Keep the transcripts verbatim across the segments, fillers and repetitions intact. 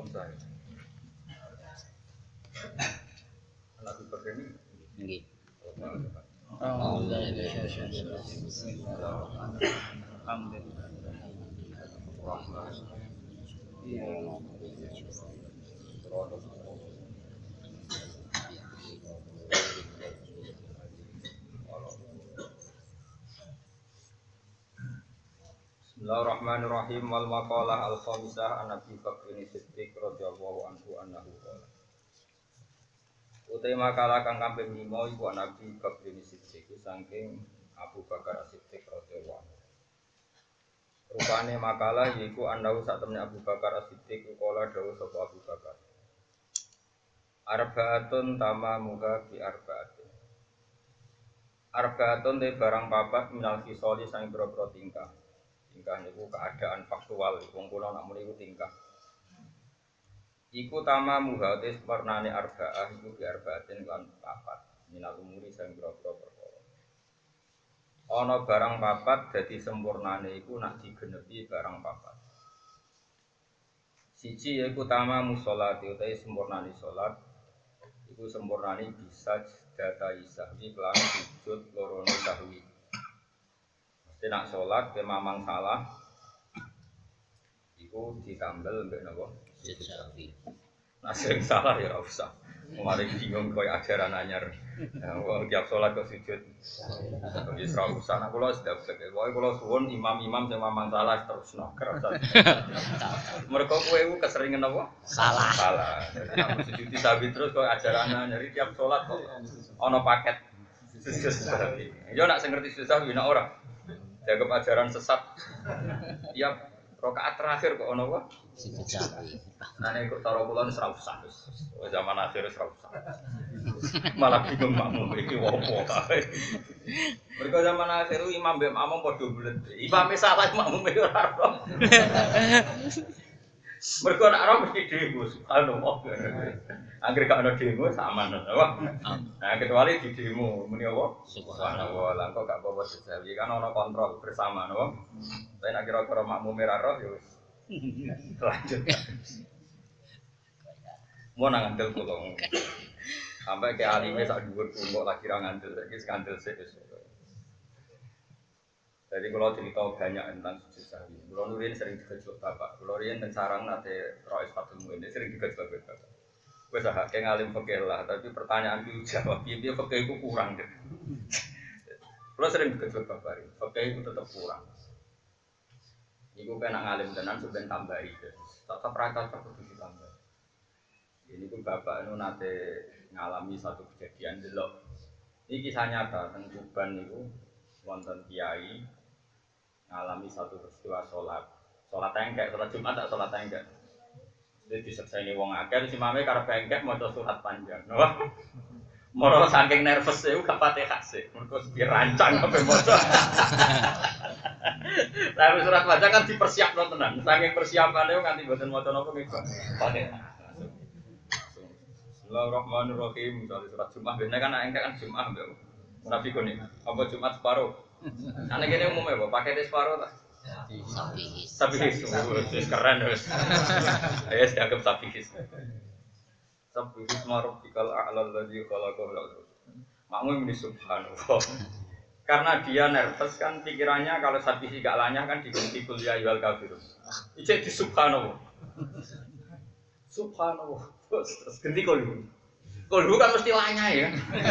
Komsah. Anak Bakar ini Nggih. Oh, Bismillahirrahmanirrahim. Wal maqalah al khamisah an Abi Bakr Siddiq radhiyallahu anhu annahu qala. Utai makalah kang kaping lima iku Nabi Bakr Siddiq saking Abu Bakar Siddiq radhiyallahu anhu. Rupane makalah yaiku annahu sak temne Abu Bakar Siddiq qala dawuh sapa Abu Bakar. Arbaatun tamamuha bi arbaatin. Arbaatun te barang papat minal kisoli sang boro-boro tingkah. Tingkah niku keadaan faktual, wong kula nak muni iku tingkah. Iku tamamuha te warnane arbaah iku bi arbaatin lan papat. Minal umuri sang boro-boro perkara. Ana barang papat dadi sempurnane iku nak digenepi barang papat. Siji yaiku tamamu sholati utawi sempurnane salat. Iku sempurnane bisa data isahwi kelan sujud lorono sahwi. Mesti nak sholat ke mamang salah iku ditambel mbek napa? Sujud sahwi. Nah sing salah ya ora usah. Mari bingung koyo ajaran anyar. Ya wong tiap sholat kok sujud. Wis ora usah. Nah kula sudah begek. Pokoke kula suwun imam-imam sing mamang salah terusno kerasa. Mergo kowe iku keseringan apa? Salah. Salah. Jadi sujud sahwi terus kok ajaran anyar tiap sholat kok ana paket sujud sahwi. Yo nak sing ngerti sujud sahwi nak ora. Jaga ajaran sesat. Tiap rakaat terakhir kok ono apa? Sujud sahwi. Nah nek kok cara kula wis ora usah wis. Zaman akhir wis ora usah. Malah bingung makmum iki opo kae. Mergo zaman akhir imam mbek makmum padha bulet. Imame salah makmum ora ora. Mergo nek ora mesti demo subhanallah. Angger gak ono demo sama apa? Nah kecuali di demo muni apa? Subhanallah. Lah kok gak apa-apa sesawi kan ono kontrol bersama napa? Tapi nek kira-kira makmum ora roh ya wis. Lanjut. Mau nang ngandel kula. Sampai ke alime sak dhuwur kok lagi ra ngandel iki skandal sik wis. Jadi kalau cerita banyak tentang sujud sahwi. Kalau nurin sering digejlok bapak. Kalau riyen teng sarang nate Rois Fatul Muin sering digejlok bapak. Wes ah kayak ngalim fikih lah, tapi pertanyaan itu jawab piye fikih itu kurang deh. Kalau sering digejlok bapak, fikih itu tetap kurang. Iku kena ngalim tenan sampeyan tambahi. Tetap ra cocok kudu ditambah. Ini pun bapak itu nate ngalami satu kejadian delok. Ini kisah nyata teng Tuban niku wonten kiai ngalami satu peristiwa sholat. Sholat engkek, sholat Jumat tak sholat engkek. Jadi disekseni wong akeh si mame karep engkek maca surat panjang. Wah. Moro saking nervous e gak Fatihah sih. Mergo dirancang ape maca. Lah surat panjang kan dipersiapno tenan. Saking persiapane nganti mboten maca napa nggih. Fatihah. Bismillahirrahmanirrahim. Misalnya surat Jumat, biasanya kan engkek kan Jumat mbak. Munafikun nih, apa Jumat separuh? Aneh gini umumnya, apa pakai separuh tak? Sabihis. Sabihis, wis keren wis. Ayo dianggap sabihis. Sabihis marabbikal a'lal ladzi khalaqahu. Makmum ini subhanallah. Karena dia nervous kan pikirannya kalau sabihis gak lanyah kan diganti kul ya ayyuhal kafirun. Ijek di subhanallah. Subhanallah. Terus ganti kul. Kul kan mesti lanyah ya.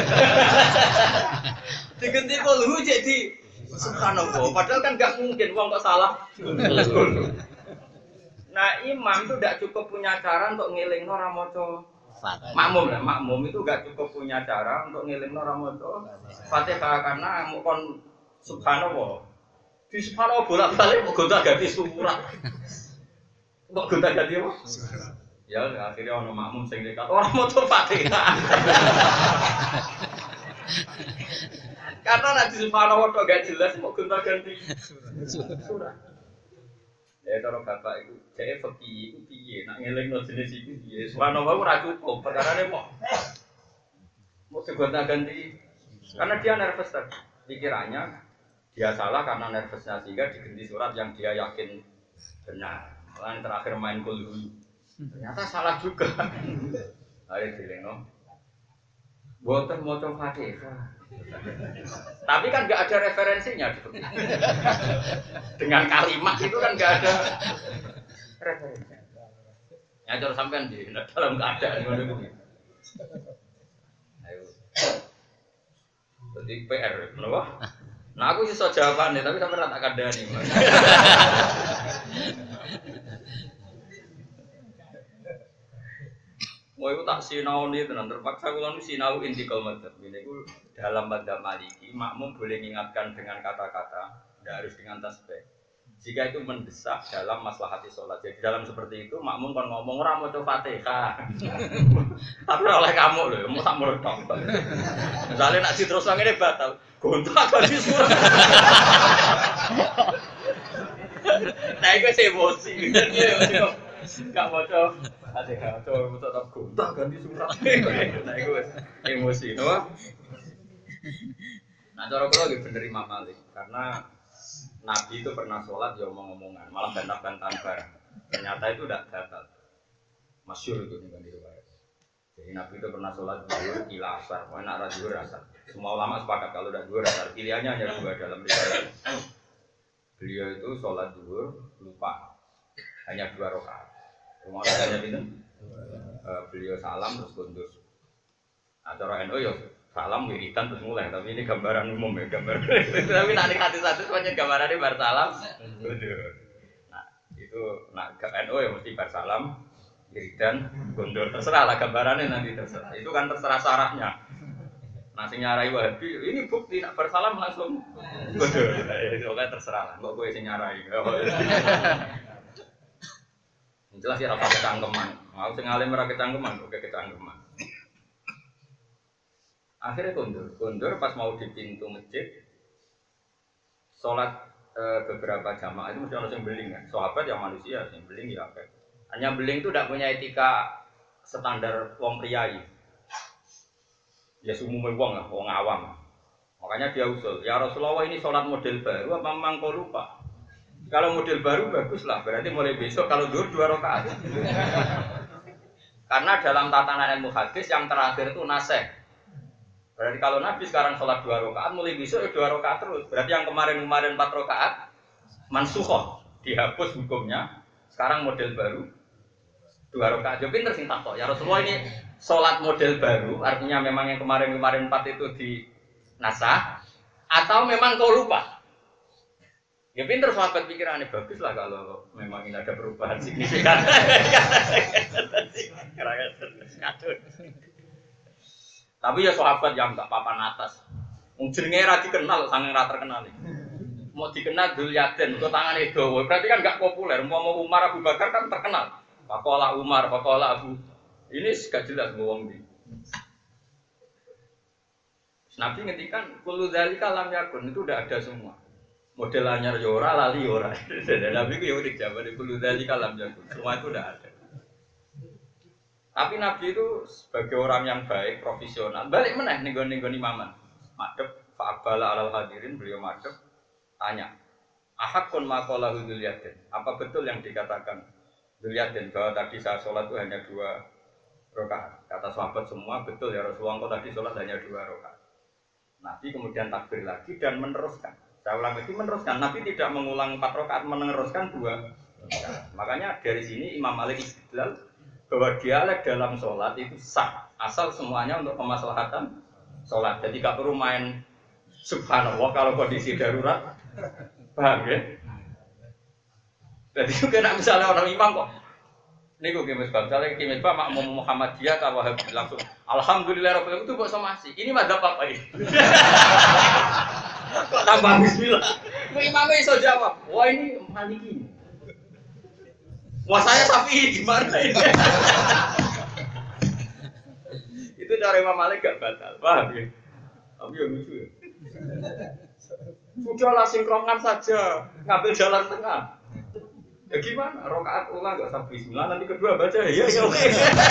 Diganti kul jadi subhanallah, padahal kan nggak mungkin, uang kok salah. Nah imam itu tidak cukup punya cara untuk ngiling orang moco. Makmum lah, makmum itu nggak cukup punya cara untuk ngiling orang moco. Fatihah karena mukon subhanallah. Di subhanallah bolak balik mau gonta ganti surat. Kok gonta ganti apa? Ya akhirnya orang makmum sing dekat orang moco Fatihah. Karena nanti subhanallah kok gak jelas mau gonta ganti surat. Ya cara bapak itu jadi fakih itu piye nak ngelingno jenis itu piye. Subhanallah ora cukup, perkarane mau mau gonta ganti karena dia nervous tadi. Pikirannya dia salah karena nervousnya sehingga diganti surat yang dia yakin benar. Lain terakhir main kulhu. Ternyata salah juga. Ayo dileno. Boten maca Fatihah. Tapi kan nggak ada referensinya gitu. Dengan kalimat itu kan nggak ada referensinya. Ya terus sampean di dalam keadaan ngono kuwi. Ayo. Jadi P R, kenapa? Nah aku sih so jawabannya, tapi sampean tak kandhani. Mau itu tak sinau nih tenan terpaksa kalau nu sinau intikal madzhab. Ini aku dalam madzhab Maliki makmum boleh mengingatkan dengan kata-kata, tidak harus dengan tasbih. Jika itu mendesak dalam maslahati sholat. Jadi dalam seperti itu makmum kan ngomong ora maca Fatihah. Tapi oleh kamu loh, mau tak meledak. Misalnya nak terus nang ini batal, gontak ganti surat. Nah itu emosi. Gak maca Fatihah, coba tetap gontak ganti surat. Nah itu emosi, no? Nah cara kula nggih bener Imam Malik karena Nabi itu pernah sholat ya omong-omongan, malah bantah-bantahan bareng. Ternyata itu tidak batal. Masyhur itu nih riwayat. Jadi Nabi itu pernah sholat zuhur, ila asar, mau nak zuhur asar. Semua ulama sepakat kalau tidak zuhur asar, pilihannya hanya dua dalam riwayat. Beliau itu sholat zuhur lupa, hanya dua rakaat. Rumah hanya bintang. Beliau salam terus kundur. Acara N U ya salam wiridan terus mulai, tapi ini gambaran umum ya, gambar. Tapi nanti hati-hati semuanya gambarannya bar salam. Nah, itu nak N U ya mesti bar salam, wiridan, gondor terserah lah gambarannya nanti terserah. Itu kan terserah sarahnya. Nah, sing nyarai Wahabi, ini bukti nak bar salam langsung gondor. Itu kan terserah lah, kok gue sing nyarai. Jelas ya rasa kecangkeman. Mau sing alim ora kecangkeman, oke kecangkeman. Akhirnya kundur, kundur pas mau di pintu masjid, sholat e, beberapa jamaah itu mesti orang yang beling kan, sahabat yang manusia, yang beling ya apa? Hanya beling itu tidak punya etika standar wong priayi, ya umumnya wong lah, wong awam. Makanya dia usul, ya Rasulullah ini sholat model baru, apa memang kau lupa? Kalau model baru bagus lah, berarti mulai besok kalau dur dua rakaat. Karena dalam tatanan ilmu hadis yang terakhir itu naseh. Berarti kalau Nabi sekarang sholat dua rakaat, mulai besok ya dua rakaat terus. Berarti yang kemarin-kemarin empat rakaat mansukhoh, dihapus hukumnya. Sekarang model baru dua rakaat. Jadi pinter sing takok. Ya Rasulullah ini sholat model baru, artinya memang yang kemarin-kemarin empat itu di nasah, atau memang kau lupa? Ya pinter sahabat pikirannya bagus lah kalau memang ini ada perubahan signifikan. Tapi ya sahabat yang tak papan atas. Jenenge ra dikenal sange ra terkenal iki. Mau dikenal Dzul Yaden, kok tangane dawa. Berarti kan enggak populer. Mau Umar Abu Bakar kan terkenal. Faqala Umar, faqala Abu. Ini gak jelas wong iki. Nabi ngendikan kullu dzalika lam yakun, itu udah ada semua. Model anyar yo ora, lali yo ora. Nabi ku yo dijawab kullu dzalika lam yakun. Semua itu udah ada. Tapi Nabi itu sebagai orang yang baik, profesional, balik meneh ning-ning imaman. Madhep fa'abala alal hadirin, beliau madhep tanya. Ahakun maqalahu Dzul Yaden. Apa betul yang dikatakan Dzul Yaden bahwa tadi saya sholat itu hanya dua rakaat? Kata sahabat semua betul ya Rasulullah, kok tadi sholat hanya dua rakaat. Nabi kemudian takbir lagi dan meneruskan. Saya ulang itu meneruskan. Nabi tidak mengulang empat rakaat, meneruskan dua. Makanya dari sini Imam Malik istidlal bahwa dialek dalam sholat itu sah asal semuanya untuk kemaslahatan sholat. Jadi gak perlu main subhanallah kalau kondisi darurat, paham ya? Jadi juga nak misalnya orang imam kok, ini gue kimis bang, misalnya kimis bang makmum Muhammadiyah kalau langsung alhamdulillah rabbil itu kok sama sih. Ini madzhab apa ini? Kok tambah bismillah? Gue imamnya iso jawab, wah ini Maliki. Wah saya Syafi'i gimana ini? Itu cara Imam Malik gak batal, paham ya? Tapi yang lucu ya. Sudahlah sinkronkan saja, ngambil jalan tengah. Ya gimana? Rokaat ulang gak sampai bismillah, nanti kedua baca ya ya oke.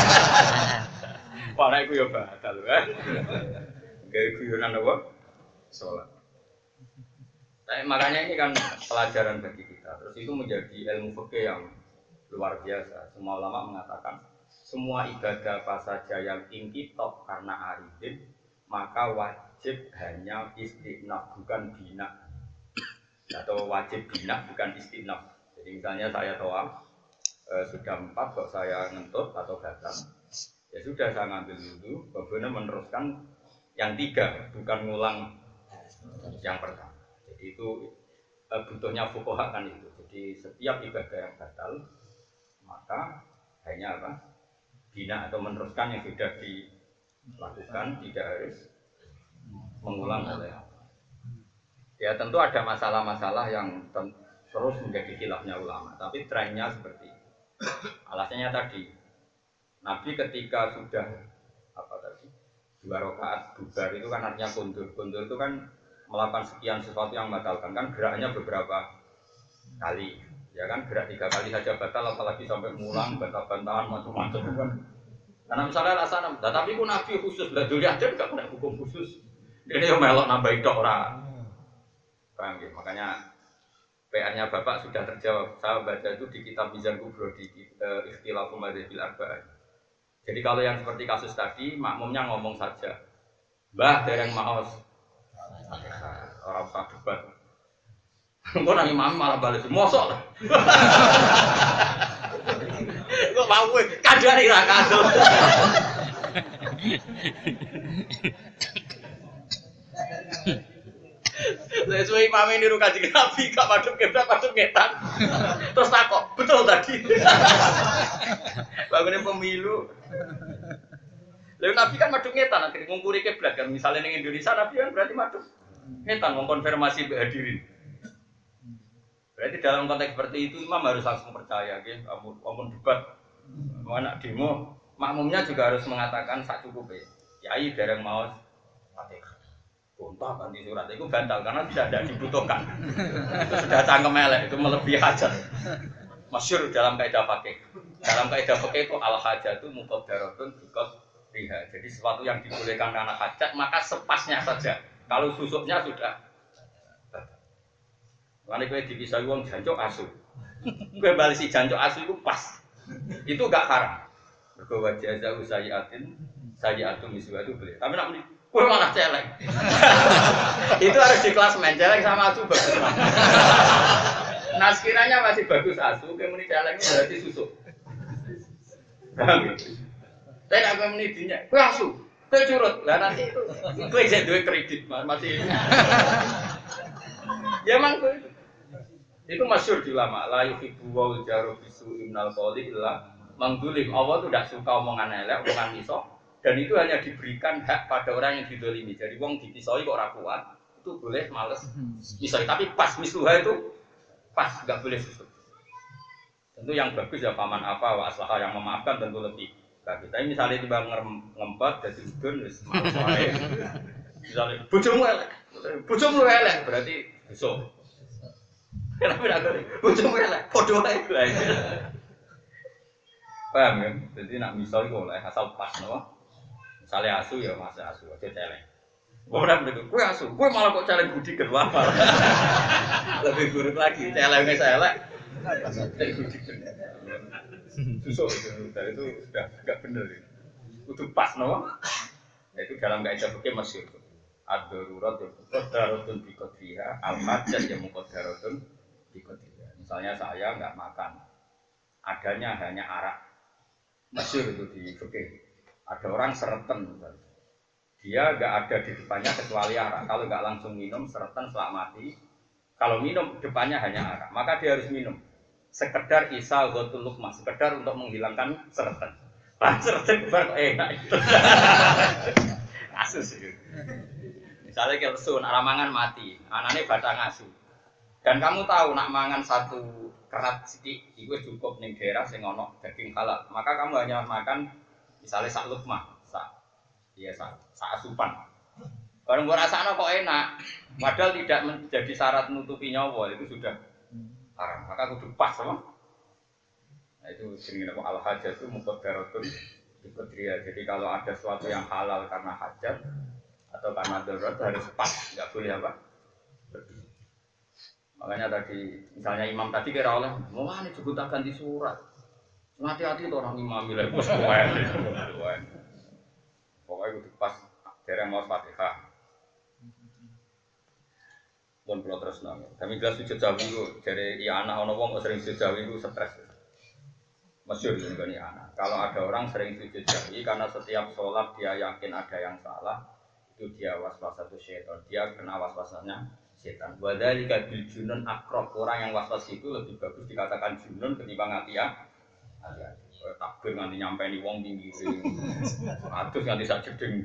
Wah itu ya batal kan? Gaya guyonan apa? Sholat. Nah, makanya ini kan pelajaran bagi kita. Terus itu menjadi ilmu fikih yang luar biasa. Semua ulama mengatakan semua ibadah apa saja yang inkitab karena aridin maka wajib hanya istinaf bukan bina, atau wajib bina bukan istinaf. Jadi misalnya saya toa eh, sudah empat kok saya ngentut atau gatal, ya sudah saya ngambil dulu, kemudian meneruskan yang tiga bukan ngulang yang pertama. Jadi itu eh, butuhnya fuqaha kan itu. Jadi setiap ibadah yang batal maka hanya apa? Bina atau meneruskan yang sudah dilakukan, tidak harus mengulang oleh. Ya tentu ada masalah-masalah yang ten- terus menjadi khilafnya ulama, tapi trennya seperti itu. Alasannya tadi, Nabi ketika sudah apa tadi dua rakaat bubar itu kan artinya kundur. Kundur itu kan melakukan sekian sesuatu yang membatalkan, kan geraknya beberapa kali. Ya kan gerak tiga kali saja batal, apalagi sampai mulang, bantah-bantahan macam-macam kan. Karena misalnya alasan, nah, tapi pun Nabi khusus, lah dulu aja nggak punya hukum khusus. Ini yang melok nambahin dok orang. Paham ya? Makanya P R-nya Bapak sudah terjawab. Saya baca itu di kitab Mizan Kubro di uh, Ikhtilaful Madzhabil Arba'ah. Jadi kalau yang seperti kasus tadi, makmumnya ngomong saja, Mbah dereng maos, orang usah debat. Kok nang imam malah bales, mosok. Kok mau kowe kadare ra kadol. Saya suwe imam niru Kanjeng Nabi, gak madhep kiblat, madhep ngetan. Terus takok, betul tadi. Bangune pemilu. Lalu Nabi kan madhep ngetan, akhirnya ngungkuri kiblat kan. Misalnya ning Indonesia Nabi kan berarti madhep ngetan mengkonfirmasi hadirin. Berarti dalam konteks seperti itu imam harus langsung percaya, gitu. Amun debat, mau anak demo, makmumnya juga harus mengatakan sak cukupe. Yai dereng maos Fatihah. Gontah ganti surat itu bantal karena sudah tidak dibutuhkan. Itu sudah cangkem elek, itu melebihi hajat. Masyhur dalam kaidah fikih. Dalam kaidah fikih itu al hajatu muqaddaratun biqadriha. Jadi sesuatu yang dibolehkan karena hajat maka sepasnya saja. Kalau susuknya sudah Karena kowe dipisah wong jancuk asu. Kowe balesi jancuk asu itu pas. Itu enggak haram. Mergo wajah jauh sayiatin, sayiatun miswa itu boleh. Tapi nak kowe malah celeng. Itu harus di kelas main celeng sama asu bagus. Nah sekiranya masih bagus asu, kowe muni celeng itu berarti susuk. Paham? Saya nak kowe muni dinya, kowe asu. Kowe curut. Lah nanti itu kowe jadi duwe kredit masih. Ya emang kowe itu masyhur di ulama, la yuhibbu wal jaru bisu innal qawli illa mangdulim. Allah itu tidak suka omongan elek, omongan misok, dan itu hanya diberikan hak pada orang yang didolimi. Jadi wong dipisoi kok ora kuat, itu boleh males misoi, tapi pas misluha itu pas, nggak boleh susut. Tentu yang bagus ya paman apa wa aslaha, yang memaafkan tentu lebih bagus. Tapi misalnya tiba ngempet jadi udun wis males wae. Misalnya bojomu elek, bojomu elek berarti besok. Kenapa tidak ada? Bojomu elek, podo ae. Paham kan? Jadi nak misal iku oleh asal pas no. Misale asu ya mas asu aja celeng. Ora begitu. Kowe asu, kowe malah kok celeng budi kedua. Lebih buruk lagi, celenge elek. Budi kedua. Susuk itu, itu sudah enggak benar itu. Kudu pas no. Itu dalam kaidah fikih masyhur. Ad-darurat ya muqaddaratun bi qadriha, al-hajat ya muqaddaratun bi qadriha. Misalnya saya enggak makan, adanya hanya arak. Masyhur itu di fikih. Ada orang sereten, dia enggak ada di depannya kecuali arak. Kalau enggak langsung minum sereten selak mati. Kalau minum depannya hanya arak, maka dia harus minum. Sekedar isa ghatul luqmah, sekedar untuk menghilangkan sereten. Lah sereten bar enak itu. Kasus itu. Misalnya kalau sun, aramangan mati, anaknya batang asu. Dan kamu tahu nak mangan satu kerat sidik, itu cukup ning daerah sing ono daging halal. Maka kamu hanya makan misalnya sak lukmah, sak iya sak, sak asupan. Kalau mbok rasakno kok enak, padahal tidak menjadi syarat menutupi nyawa, itu sudah haram. Maka kudu pas sama. Nah itu jenenge apa al hajat itu muqaddaratun bi qadriha. Jadi kalau ada sesuatu yang halal karena hajat atau karena darurat harus pas, nggak boleh apa? Makanya tadi misalnya imam tadi kira oleh, mau nih juga ganti surat. Hati-hati tuh orang imam milih bos kowen. Pokoknya itu pas dereng mau Fatihah. Pun kalau terus nang. Kami jelas sujud jauh itu dari iya anak ono wong sering sujud jauh itu stres. Masyhur ini kan iya anak. Kalau ada orang sering sujud jauh karena setiap sholat dia yakin ada yang salah, itu dia waswas satu syaitan. Dia kena waswasannya setan. Wadzalika bil junun akrab. Orang yang waswas itu lebih bagus dikatakan junun ketimbang hati-hati. Takbir nganti nyampe nih wong tinggi atus nganti sak jeding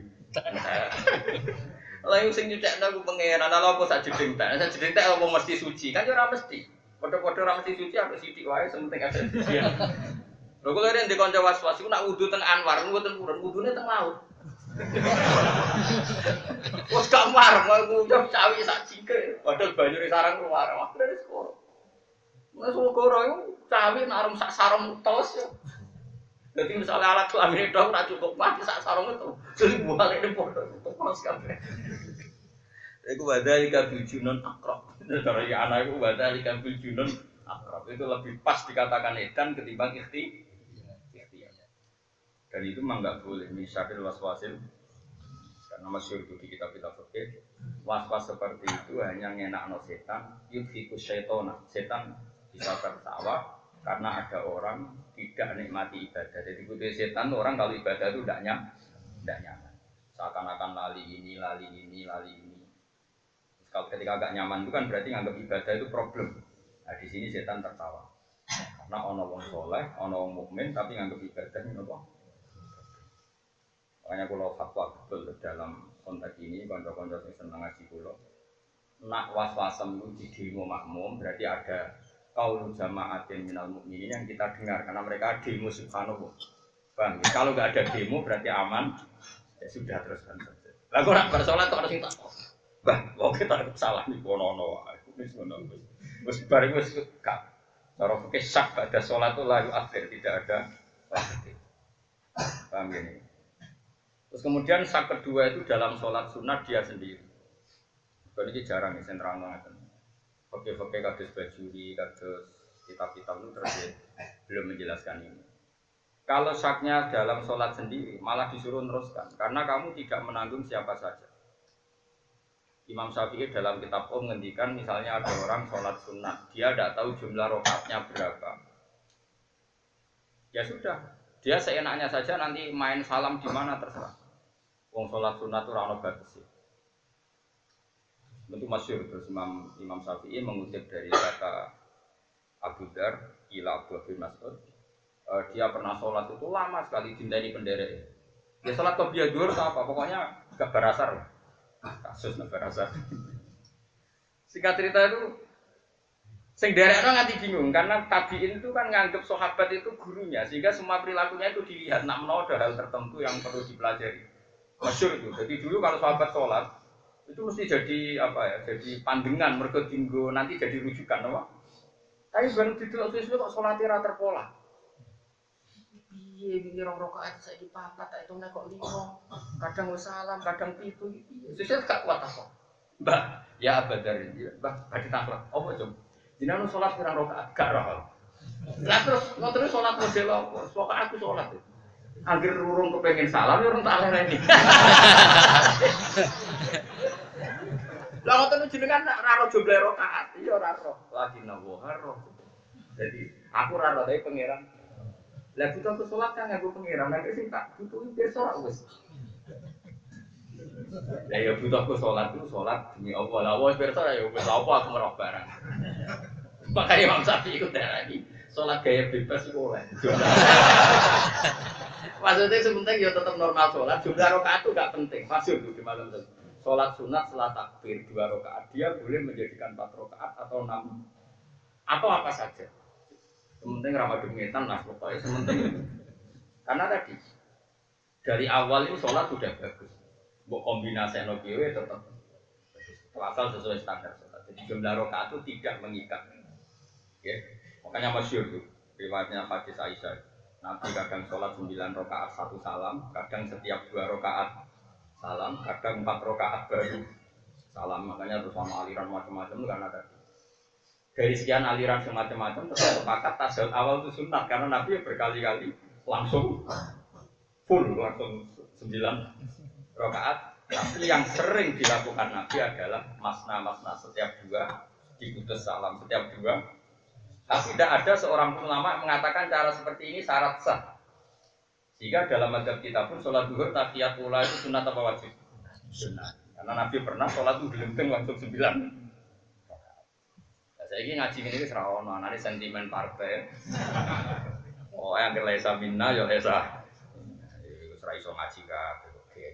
lah yang sing nyucek aku pengeran ala apa sak jeding tak sak jeding tak apa mesti suci kan ora mesti padha-padha ora mesti suci apa sithik wae sementing ada suci lho kok leren di kanca was-was iku nak wudu teng Anwar mboten purun wudune teng laut wis gak mar mau ngucap cawi sak jingke padahal banyune sarang keluar wah dari sekolah wis kok itu cawi nak sak sarung tos ya. Jadi misalnya alat kelamin itu ora cukup mati sak sarung itu. Jadi balik di foto itu pas kabeh. Iku wadalika bil junun akrab. Dari anak iku wadalika bil junun akrab. Itu lebih pas dikatakan edan ketimbang ikhti. Ikhtiar. Dan itu memang enggak boleh misalnya waswasil. Karena masyhur itu di kitab-kitab fikih. Was-was seperti itu hanya ngenakno setan, yudhikus syaitona. Setan bisa tertawa karena ada orang tidak nikmati ibadah. Jadi butuh setan orang kalau ibadah itu tidak nyaman, tidak nyaman. Seakan-akan lali ini, lali ini, lali ini. Kalau ketika agak nyaman itu kan berarti nganggap ibadah itu problem. Nah di sini setan tertawa. Karena ono wong soleh, ono wong mukmin tapi nganggap ibadah ini apa? Makanya kalau fatwa betul dalam konteks ini, konco-konco yang senang ngaji kulo, nak was-wasem itu di demo makmum berarti ada qaulu jama'atin minal mukminin yang kita dengar karena mereka demo subhanallah. Bang, kalau enggak ada demo berarti aman. Ya sudah teruskan saja. Lah kok nak bersolat kok ada sing tak. Bang, kok kita salah nih kono-kono. Wis ngono wis. Wis bareng wis gak. Cara fikih sak ada salat itu layu akhir tidak ada wajib. Paham gini. Terus kemudian sak kedua itu dalam salat sunat dia sendiri. Kalau ini jarang nih sentrang banget. Oke-oke kados bajuri, kados kitab-kitab itu terus belum menjelaskan ini. Kalau saknya dalam sholat sendiri malah disuruh teruskan karena kamu tidak menanggung siapa saja. Imam Syafi'i dalam kitab Om ngendikan misalnya ada orang sholat sunat, dia tidak tahu jumlah rakaatnya berapa. Ya sudah, dia seenaknya saja nanti main salam di mana terserah. Wong sholat sunat itu ora ono batasi. Itu masyhur terus Imam Imam Syafi'i mengutip dari kata Abu Dar ila Abu bin Mas'ud. Uh, dia pernah sholat itu lama sekali dinteni penderek. Dia sholat qobliyah dhuwur apa? Pokoknya gak berasar lah. Kasus gak berasar. Singkat cerita itu sing derekno nganti bingung karena tabiin itu kan nganggep sahabat itu gurunya sehingga semua perilakunya itu dilihat nak menawa ada hal tertentu yang perlu dipelajari. Masyhur itu. Jadi dulu kalau sahabat sholat itu mesti jadi apa ya? Jadi pandangan mergo dinggo nanti jadi rujukan apa? Tapi baru didelok sesuatu kok salate ra terpola. Piye iki rong rakaat saiki papat tak hitungnya kok lima. Kadang wis salam, kadang pitu iki. Sesuk gak kuat apa. Mbah, ya abadar iki. Mbah, badhe takhlak. Apa jom? Jenengan salat pirang rakaat gak roh. Lah terus ngoten salat model apa? Pokoke aku salat. Angger urung kepengin salam ya urung tak lereni. Lah ngoten jenengan ra ro jumlah rakaat, iya ora ro. Lagi nawo haro. Jadi aku ora ro tapi pangeran. Lah butuh aku salat kan nganggo pangeran, nek sing tak butuhi pirsa ora wis. Lah ya butuh aku salat itu salat demi Allah. Lah wis pirsa ya wis apa aku merok barang. Makanya Imam Syafi'i iku darani salat gaya bebas iku oleh. Maksudnya sebentar ya tetap normal salat, jumlah rakaat itu gak penting. Masyhur di malam itu. Sholat sunat setelah takbir dua rakaat dia boleh menjadikan empat rakaat atau enam atau apa saja. Sementing ramadhan ngetan lah pokoknya sementing. Karena tadi dari awal itu sholat sudah bagus. Buat kombinasi nokiwe tetap asal sesuai standar sholat. Jadi jumlah rakaat itu tidak mengikat. Ya, makanya masyhur tuh riwayatnya hadis Aisyah. Nabi kadang sholat sembilan rakaat satu salam, kadang setiap dua rakaat salam, kadang empat rakaat baru salam. Makanya terus sama aliran macam-macam itu karena tadi dari sekian aliran semacam-macam tetap sepakat tasawuf awal itu sunat karena Nabi berkali-kali langsung full langsung sembilan rakaat. Tapi yang sering dilakukan Nabi adalah masna-masna setiap dua diputus salam setiap dua. Tapi tidak ada seorang ulama mengatakan cara seperti ini syarat sah. Sehingga dalam mazhab kita pun sholat zuhur tahiyat ula itu sunat apa wajib? Sunat. Karena Nabi pernah sholat itu gelenteng langsung sembilan. Nah, saya ini ngaji ini serawono, nanti sentimen partai. Oh yang kelesa minna ya lesa. Serai so ngaji kah?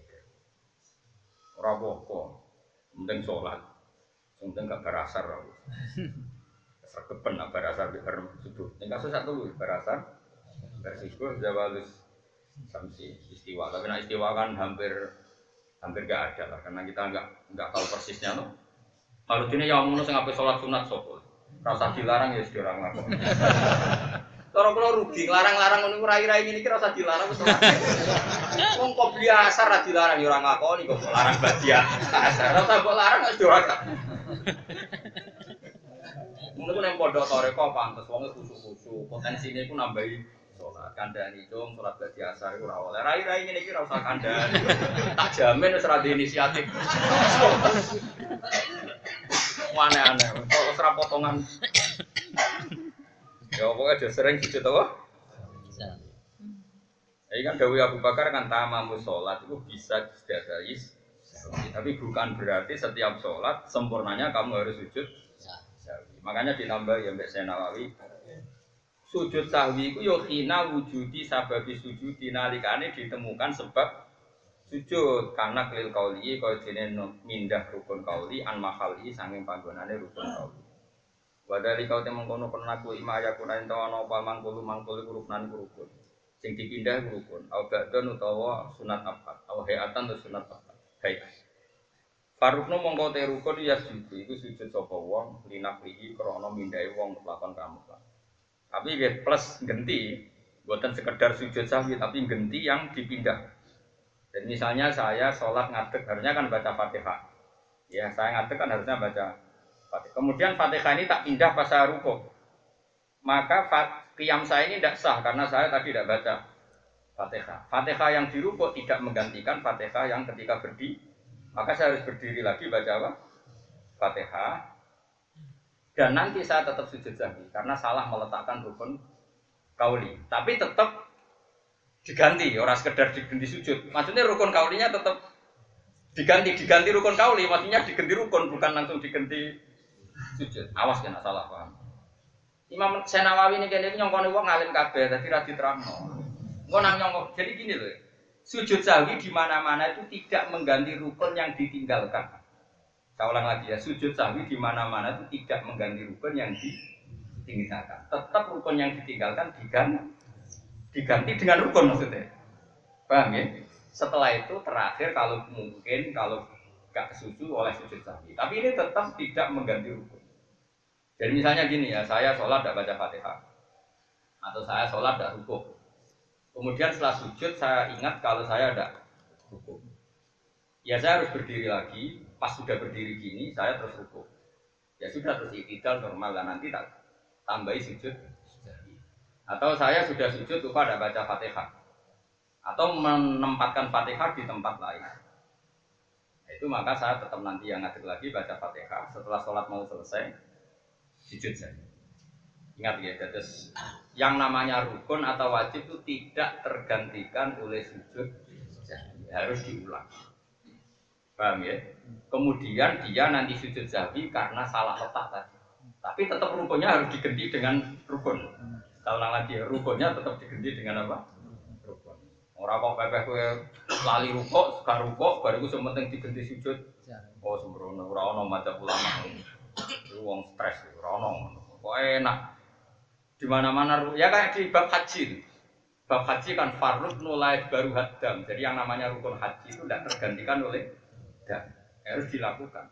Ora apa-apa, penting sholat, penting gak berasar aku. Sergepen gak berasar di bareng subuh. Yang kasus satu berasar, bersubuh zawalus samsi istiwa. Tapi nak istiwa kan hampir hampir gak ada lah, karena kita nggak nggak tahu persisnya loh. Kalau ini yang ngono sing ape sholat sunat sopo, rasa dilarang ya sudah orang lakukan. Kalau kalau rugi, larang-larang ngono rai-rai ini kira usah dilarang wis ora. Wong kok biasa ra dilarang ya ora ngakoni kok larang badia. Asar ora kok larang wis ora. Mungkin ku nang pondok toreko pantes wong khusuk-khusuk, potensine iku nambahi salat. Kandhani cung salat badia asar iku ora oleh. Rai-rai ngene iki ora usah kandhani. Tak jamin wis ora di inisiatif. Aneh-aneh, kok ora potongan. Ya pokoknya dia sering sujud apa? Ini kan Dawi Abu Bakar kan tamamu sholat itu bisa dijadai. Tapi bukan berarti setiap sholat sempurnanya kamu harus sujud sahwi. Makanya ditambah ya Mbak Senawawi. Sujud sahwi itu yohina wujudi sababi sujud dinalikane ditemukan sebab sujud karena kelil kauli kau jenis mindah rukun kauli an mahali sanging panggonane rukun kauli. Wadali kau temong kono penaku imaya kunain tawa nopal mangkulu mangkulu ruknan rukun, sing dipindah rukun. Au badon utawa sunat apa? Au hayatan atau sunat apa? Hayat. Farukno mongko te rukun ya sujud. Iku sujud sapa wong linaflihi krana mindhae wong lakon kamu. Tapi nggih plus genti, bukan sekedar sujud sahwi tapi genti yang dipindah. Dan misalnya saya sholat ngadeg harusnya kan baca Fatihah. Ya saya ngadeg kan harusnya baca Fatihah. Kemudian Fatihah ini tak pindah pas saya rukuk. Maka qiyam saya ini tidak sah karena saya tadi tidak baca Fatihah. Fatihah yang dirukuk tidak menggantikan Fatihah yang ketika berdiri. Maka saya harus berdiri lagi baca apa? Fatihah. Dan nanti saya tetap sujud sahwi karena salah meletakkan rukun kauli. Tapi tetap diganti, orang sekedar diganti sujud. Maksudnya rukun kaulinya tetap diganti, diganti rukun kauli. Maksudnya diganti rukun bukan langsung diganti sujud. Awas kena salah paham. Imam Senawawi ini kene nyongkone wong ngalim kabeh dadi ra diterangno. Engko nang nyongkok. Jadi gini loh. Sujud sahwi di mana-mana itu tidak mengganti rukun yang ditinggalkan. Saya ulang lagi ya, sujud sahwi di mana-mana itu tidak mengganti rukun yang ditinggalkan. Tetap rukun yang ditinggalkan diganti diganti dengan rukun maksudnya. Paham ya? Setelah itu terakhir kalau mungkin kalau gak kesusu oleh sujud sahwi. Tapi ini tetap tidak mengganti rukun. Jadi misalnya gini ya, saya sholat tidak baca Fatihah, atau saya sholat tidak rukuk. Kemudian setelah sujud saya ingat kalau saya tidak rukuk. Ya saya harus berdiri lagi. Pas sudah berdiri gini, saya terus rukuk. Ya sudah terus iktidal normal dan nanti tak tambahi sujud. Atau saya sudah sujud lupa tidak baca Fatihah, atau menempatkan Fatihah di tempat lain. Itu maka saya tetap nanti yang ngadeg lagi baca Fatihah. Setelah sholat mau selesai, sujud saja. Ingat ya, terus yang namanya rukun atau wajib itu tidak tergantikan oleh sujud, harus diulang. Paham ya? Kemudian dia nanti sujud sahwi karena salah letak tadi. Tapi tetap rukunnya harus diganti dengan rukun. Saya ulang lagi ya, rukunnya tetap diganti dengan apa? Rukun. Orang kok pepeh kowe lali rukuk, sekarang rukuk, baru itu sementing diganti sujud. Oh sembrono, ora ono madzhab ulama. Itu wong stres, ora ono. Kok enak. Di mana-mana ya kayak di bab haji. Bab haji kan farud nulai baru hadam. Jadi yang namanya rukun haji itu tidak tergantikan oleh dam. Harus dilakukan.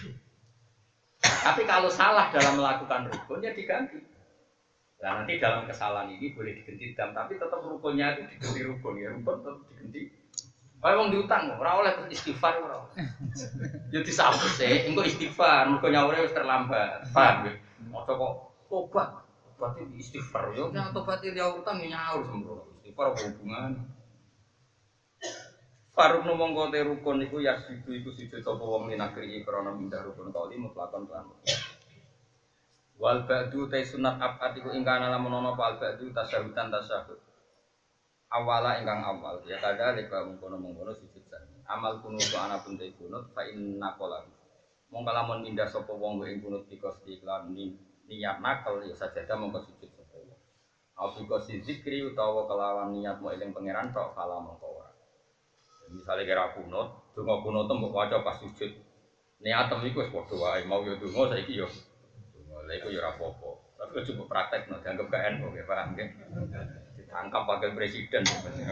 Tapi kalau salah dalam melakukan rukun ya diganti. Nah nanti dalam kesalahan ini boleh diganti dam, tapi tetap rukunnya itu diganti rukun ya, rukun tetap diganti. Kalau orang diutang, orang oleh istighfar orang. Jadi disambut sih, engkau istighfar, mereka nyawa harus terlambat, paham? Maca kok tobat. Berarti istighfar. Yo nek tobat dia utang nyaur sembrono. Istighfar apa hubungan? Faruk mongko te rukun iku ya sidu iku sujud sapa wong minakri krana mindah rukun kauli mutlakon kan. Wal ba'du ta sunat abad iku ingkang ana lamun ana wal ba'du tasyahudan tasyahud. Awala ingkang awal ya kada leka mengkono-mengkono sujud sami. Amal kunut ana pun te kunut fa inna qala. Mongko lamun mindah sapa wong ing kunut bikos iklan ni niat nakal ya sajadah mongko sujud sapa wong. Au bikos zikri utawa kelawan niat mau eling pangeran tok kala mongko ora. Misalnya kira kunut, donga kunut mbok waca pas sujud. Niatem iku wis padha wae, mau yo donga saiki yo. Donga lha iku yo ora apa-apa. Tapi kok coba praktek no, dianggap gak eno nggih, paham nggih? Ditangkap wakil presiden.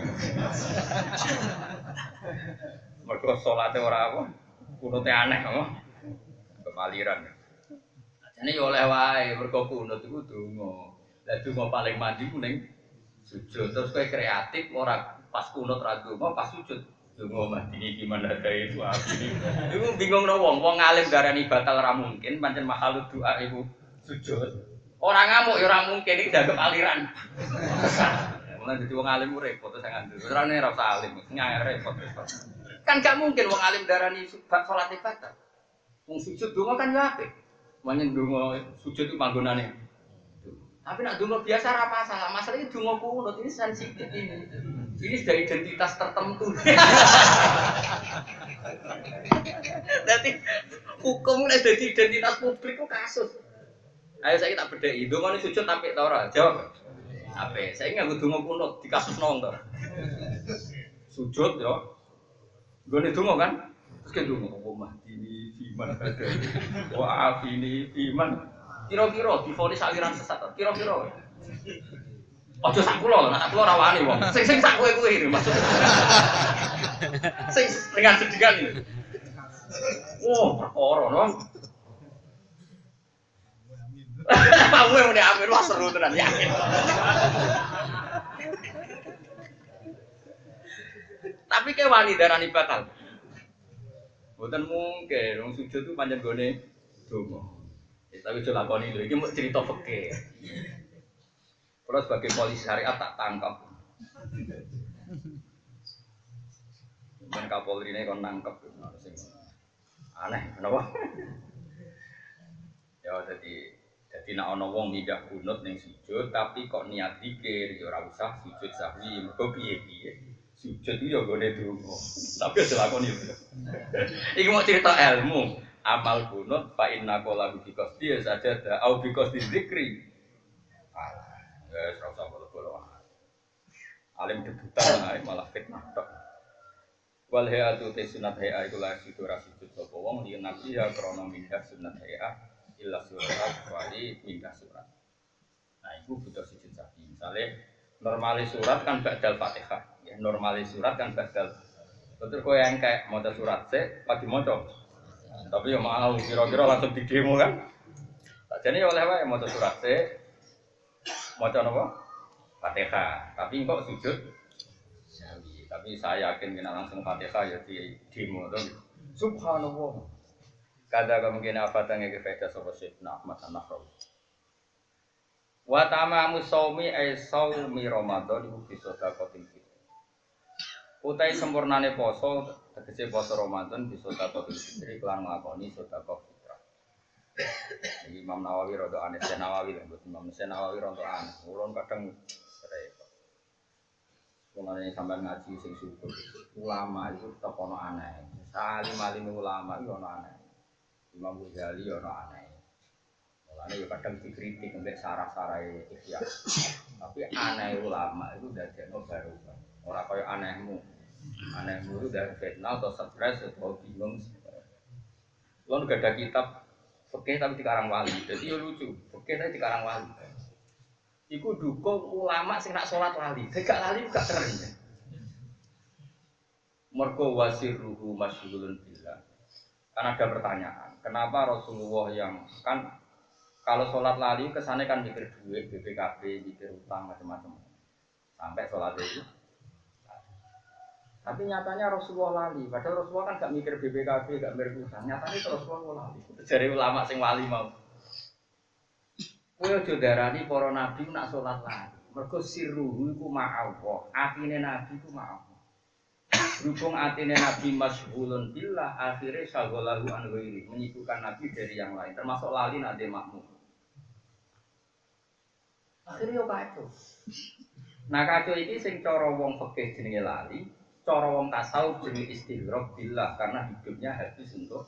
Mergo salate ora apa, kunute aneh apa? Kemaliran. Jane yo oleh wae, mergo kunut iku donga. Lah donga paling mandi ku ning sujud. Terus kowe kreatif ora pas kunut ra donga, pas sujud donga mati gimana kae itu api. Iku bingung no wong, wong alim darani batal ora mungkin, pancen makhluk doa iku sujud. Ora ngamuk ya ora mungkin iki dianggap aliran. Mulane dadi wong alim ku repot sing ngandel. Ora ora usah alim, nyai repot. Kan gak mungkin wong alim darani salat batal. Wong sujud donga kan yo apik. Manyen donga sujud itu panggonane. Tapi nak donga biasa ora masalah. Masalah iki donga kunut ini sensitif ini. Ini sudah identitas tertentu. Jadi hukum nek dadi identitas publik ku kasus. Ayo saya tak bedheki, ndongane sujud apik ta ora? Jawab. Apik. Saya nganggo donga kunut di kasus nong to. Sujud yo. Nggone donga kan? Terus ke donga apa mah ini iman ada. Wa afini iman. Kira-kira divonis aliran sesat. Kira-kira. Ojo sak kula lho, sak kula ora wani wong. Sing sing sak kowe kuwi maksud. Sing dengan sedingan ini. Oh, perkara no. Kamu yang udah amin wah seru tenan yakin. Tapi ke wani darani batal. Mboten mungkin wong sujud itu pancen gone donga. Ya, tapi aja lakoni lho, iki mau cerita fikih. Kalau sebagai polisi syariat tak tangkap. Dan Kapolri ini kon nangkep, aneh, kenapa? Ya jadi, jadi nak ono wong midah kunut neng sujud, tapi kok niat dikir, ya ora usah sujud sahwi, mergo piye-piye. Sujud itu ya gone donga. Tapi aja lakoni lho. Iki mau cerita ilmu, amal kunut fa inna qala bi qasdi saja au bi qasdi zikri. Ya, serasa bolo-bolo. Alim debutan ae malah fitnah tok. Wal hayatu te sunat haya iku la situ ra sujud sapa wong yen nabi ya krana mindah sunat haya illa surat wali mindah surat. Nah, iku butuh sujud sapi. Misale normalis surat kan ba'dal Fatihah. Ya, normalis surat kan ba'dal. Betul kowe yang kayak maca surat sik pagi maca. Tapi ya mau kira-kira langsung di demo kan. Sakjane ya oleh wae maca surat sik maca napa? Fatihah. Tapi kok sujud? Sawi. Tapi saya yakin kena langsung Fatihah ya di demo to. Subhanallah. Kada kemungkinan apa tangi ke faedah sapa Syekh Ahmad An-Nahrawi. Wa tamamu shaumi ay shaumi Ramadan iku bisa sedekah fitri. Utai sempurnane poso tegese poso Ramadan bisa sedekah fitri kelan nglakoni sedekah fitrah. Imam Nawawi rada aneh, Syekh Nawawi lho, Imam Syekh Nawawi rada aneh. Ulun kadang repot. Mulane sampean ngaji sing syukur. Ulama itu tetep ono aneh. Salim-alim ulama itu ono aneh. Imam Ghazali ono aneh. Mulane ya kadang dikritik mbek sarah-sarahe ikhya. Tapi aneh ulama itu dadekno baru. Ora kaya anehmu. Anehmu itu dari fitnah atau stres atau bingung. Ulun gak ada kitab fikih tapi dikarang wali, jadi ya lucu. Fikih tapi dikarang wali. Iku dukung ulama sing nak sholat lali, gak lali gak keren. Mergo wasirruhu masyghulun billah. Kan ada pertanyaan, kenapa Rasulullah yang kan kalau sholat lali kesannya kan mikir duit, B P K B, mikir utang macam-macam. Sampai sholat itu. Tapi nyatanya Rasulullah lali, padahal Rasulullah kan gak mikir B P K B, gak mikir utang. Nyatanya Rasulullah lali. Jadi ulama sing wali mau. Kowe aja darani para nabi nak salat lali. Mergo sirruhu iku ma'allah. Atine nabi iku ma'allah. Berhubung atine nabi masyghulun billah, akhirnya syaghalahu an ghairi, menyibukkan nabi dari yang lain, termasuk lali nate makmum. Akhirnya yo kacau. Nah kacau iki sing cara wong fikih jenenge lali, cara wong tasawuf jenenge istighraq billah karena hidupnya habis untuk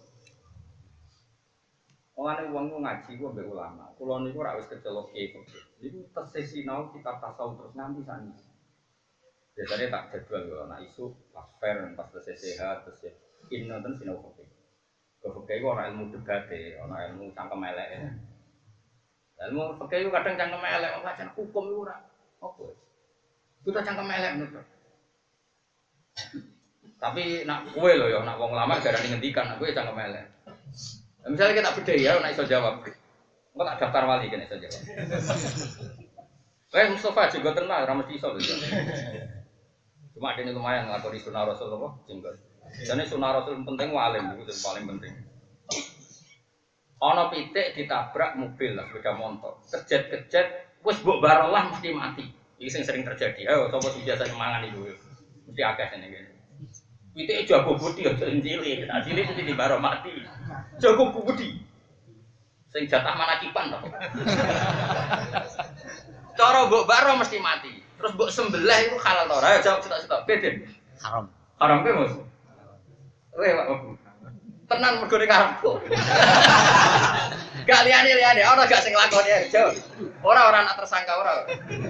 Mulane wong ngaji ku mbek ulama. Kula niku ora wis kecelok kiai fikih. Niku tesih sinau kitab tasawuf terus nganti saniki. Biasane tak jadwal yo ana isu pas fair pas selesai sehat terus ya inna ten sinau fikih. Fikih ku ana ilmu debate, ana ilmu cangkem eleke. Ilmu fikih ku kadang cangkem elek, wong hukum iku ora opo. Kita cangkem elek ngono. Tapi nak kowe lho ya nak wong ulama garane ngendikan, kowe cangkem elek. Misalnya kita beda ya, nak iso jawab. Engko tak daftar wali kene iso jawab. Wes Mustafa juga tenang, ora mesti iso lho. Cuma dene lumayan nglakoni sunah Rasul apa jenggot. Jane sunah Rasul penting walim iku sing paling penting. Ana pitik ditabrak mobil lah sepeda motor. Kejet-kejet wis mbok barolah mesti mati. Iki sing sering terjadi. Ayo sapa sing biasa mangan iku. Mesti akeh sing ngene. Pitike jago budi aja cilik, nek cilik mesti dibaro mati. Jago budi. Sing jatah manakipan to. Cara mbok baro mesti mati. Terus mbok sembelih iku halal to ora? Jawab cetok-cetok. Beden. Haram. Haram ke, Mas? Weh, Pak. Tenan mergo ning karepku. Gak liyane-liyane, ora gak sing lakoni jawab. Ora ora nak tersangka ora.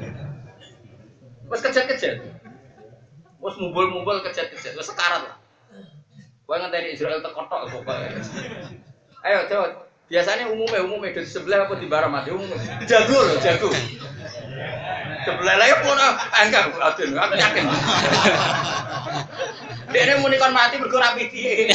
Wes kejet-kejet. Wes mumbul-mumbul kejet-kejet, wes sekarat lah. Kowe ngenteni Israel tek kotok pokoke. Ayo, jawab. Biasanya umumnya umumnya di sebelah apa di barang mati umum. Jago loh, jago. Sebelah lagi pun enggak, aduh, aku yakin. Dia ini munikan mati bergerak piti.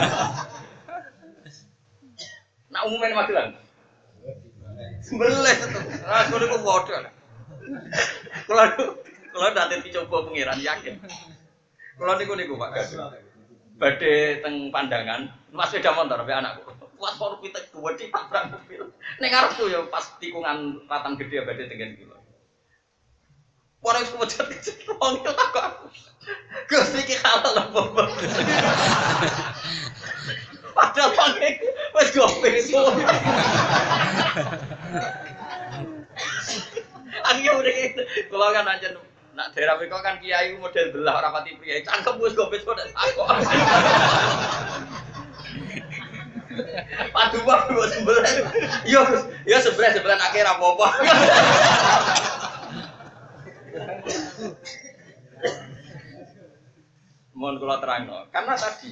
Nak umumnya mati lah. Sebelah itu, ah, kalau aku bodoh. Kalau kalau nanti dicoba pengiran yakin. Kalau niku niku Pak Gaduh. Badhe teng pandangan, Mas sepeda motor be anakku. Kuat karo pitek gede tabrak mobil. Ning arepku ya pas tikungan ratan gede badhe tengen kula. Ora wis kecet-kecet wong itu takok aku. Gus iki halal apa? Padahal wong iki wis gope itu. Aku ya udah gitu. Kalau kan aja nak daerah mereka kan kiai model belah orang pati pria. Cangkem bus gopes kok tak aku. Padu apa buat sebelah? Yo, yo sebelah sebelah akhir apa apa. Mohon kalau terang no. Karena tadi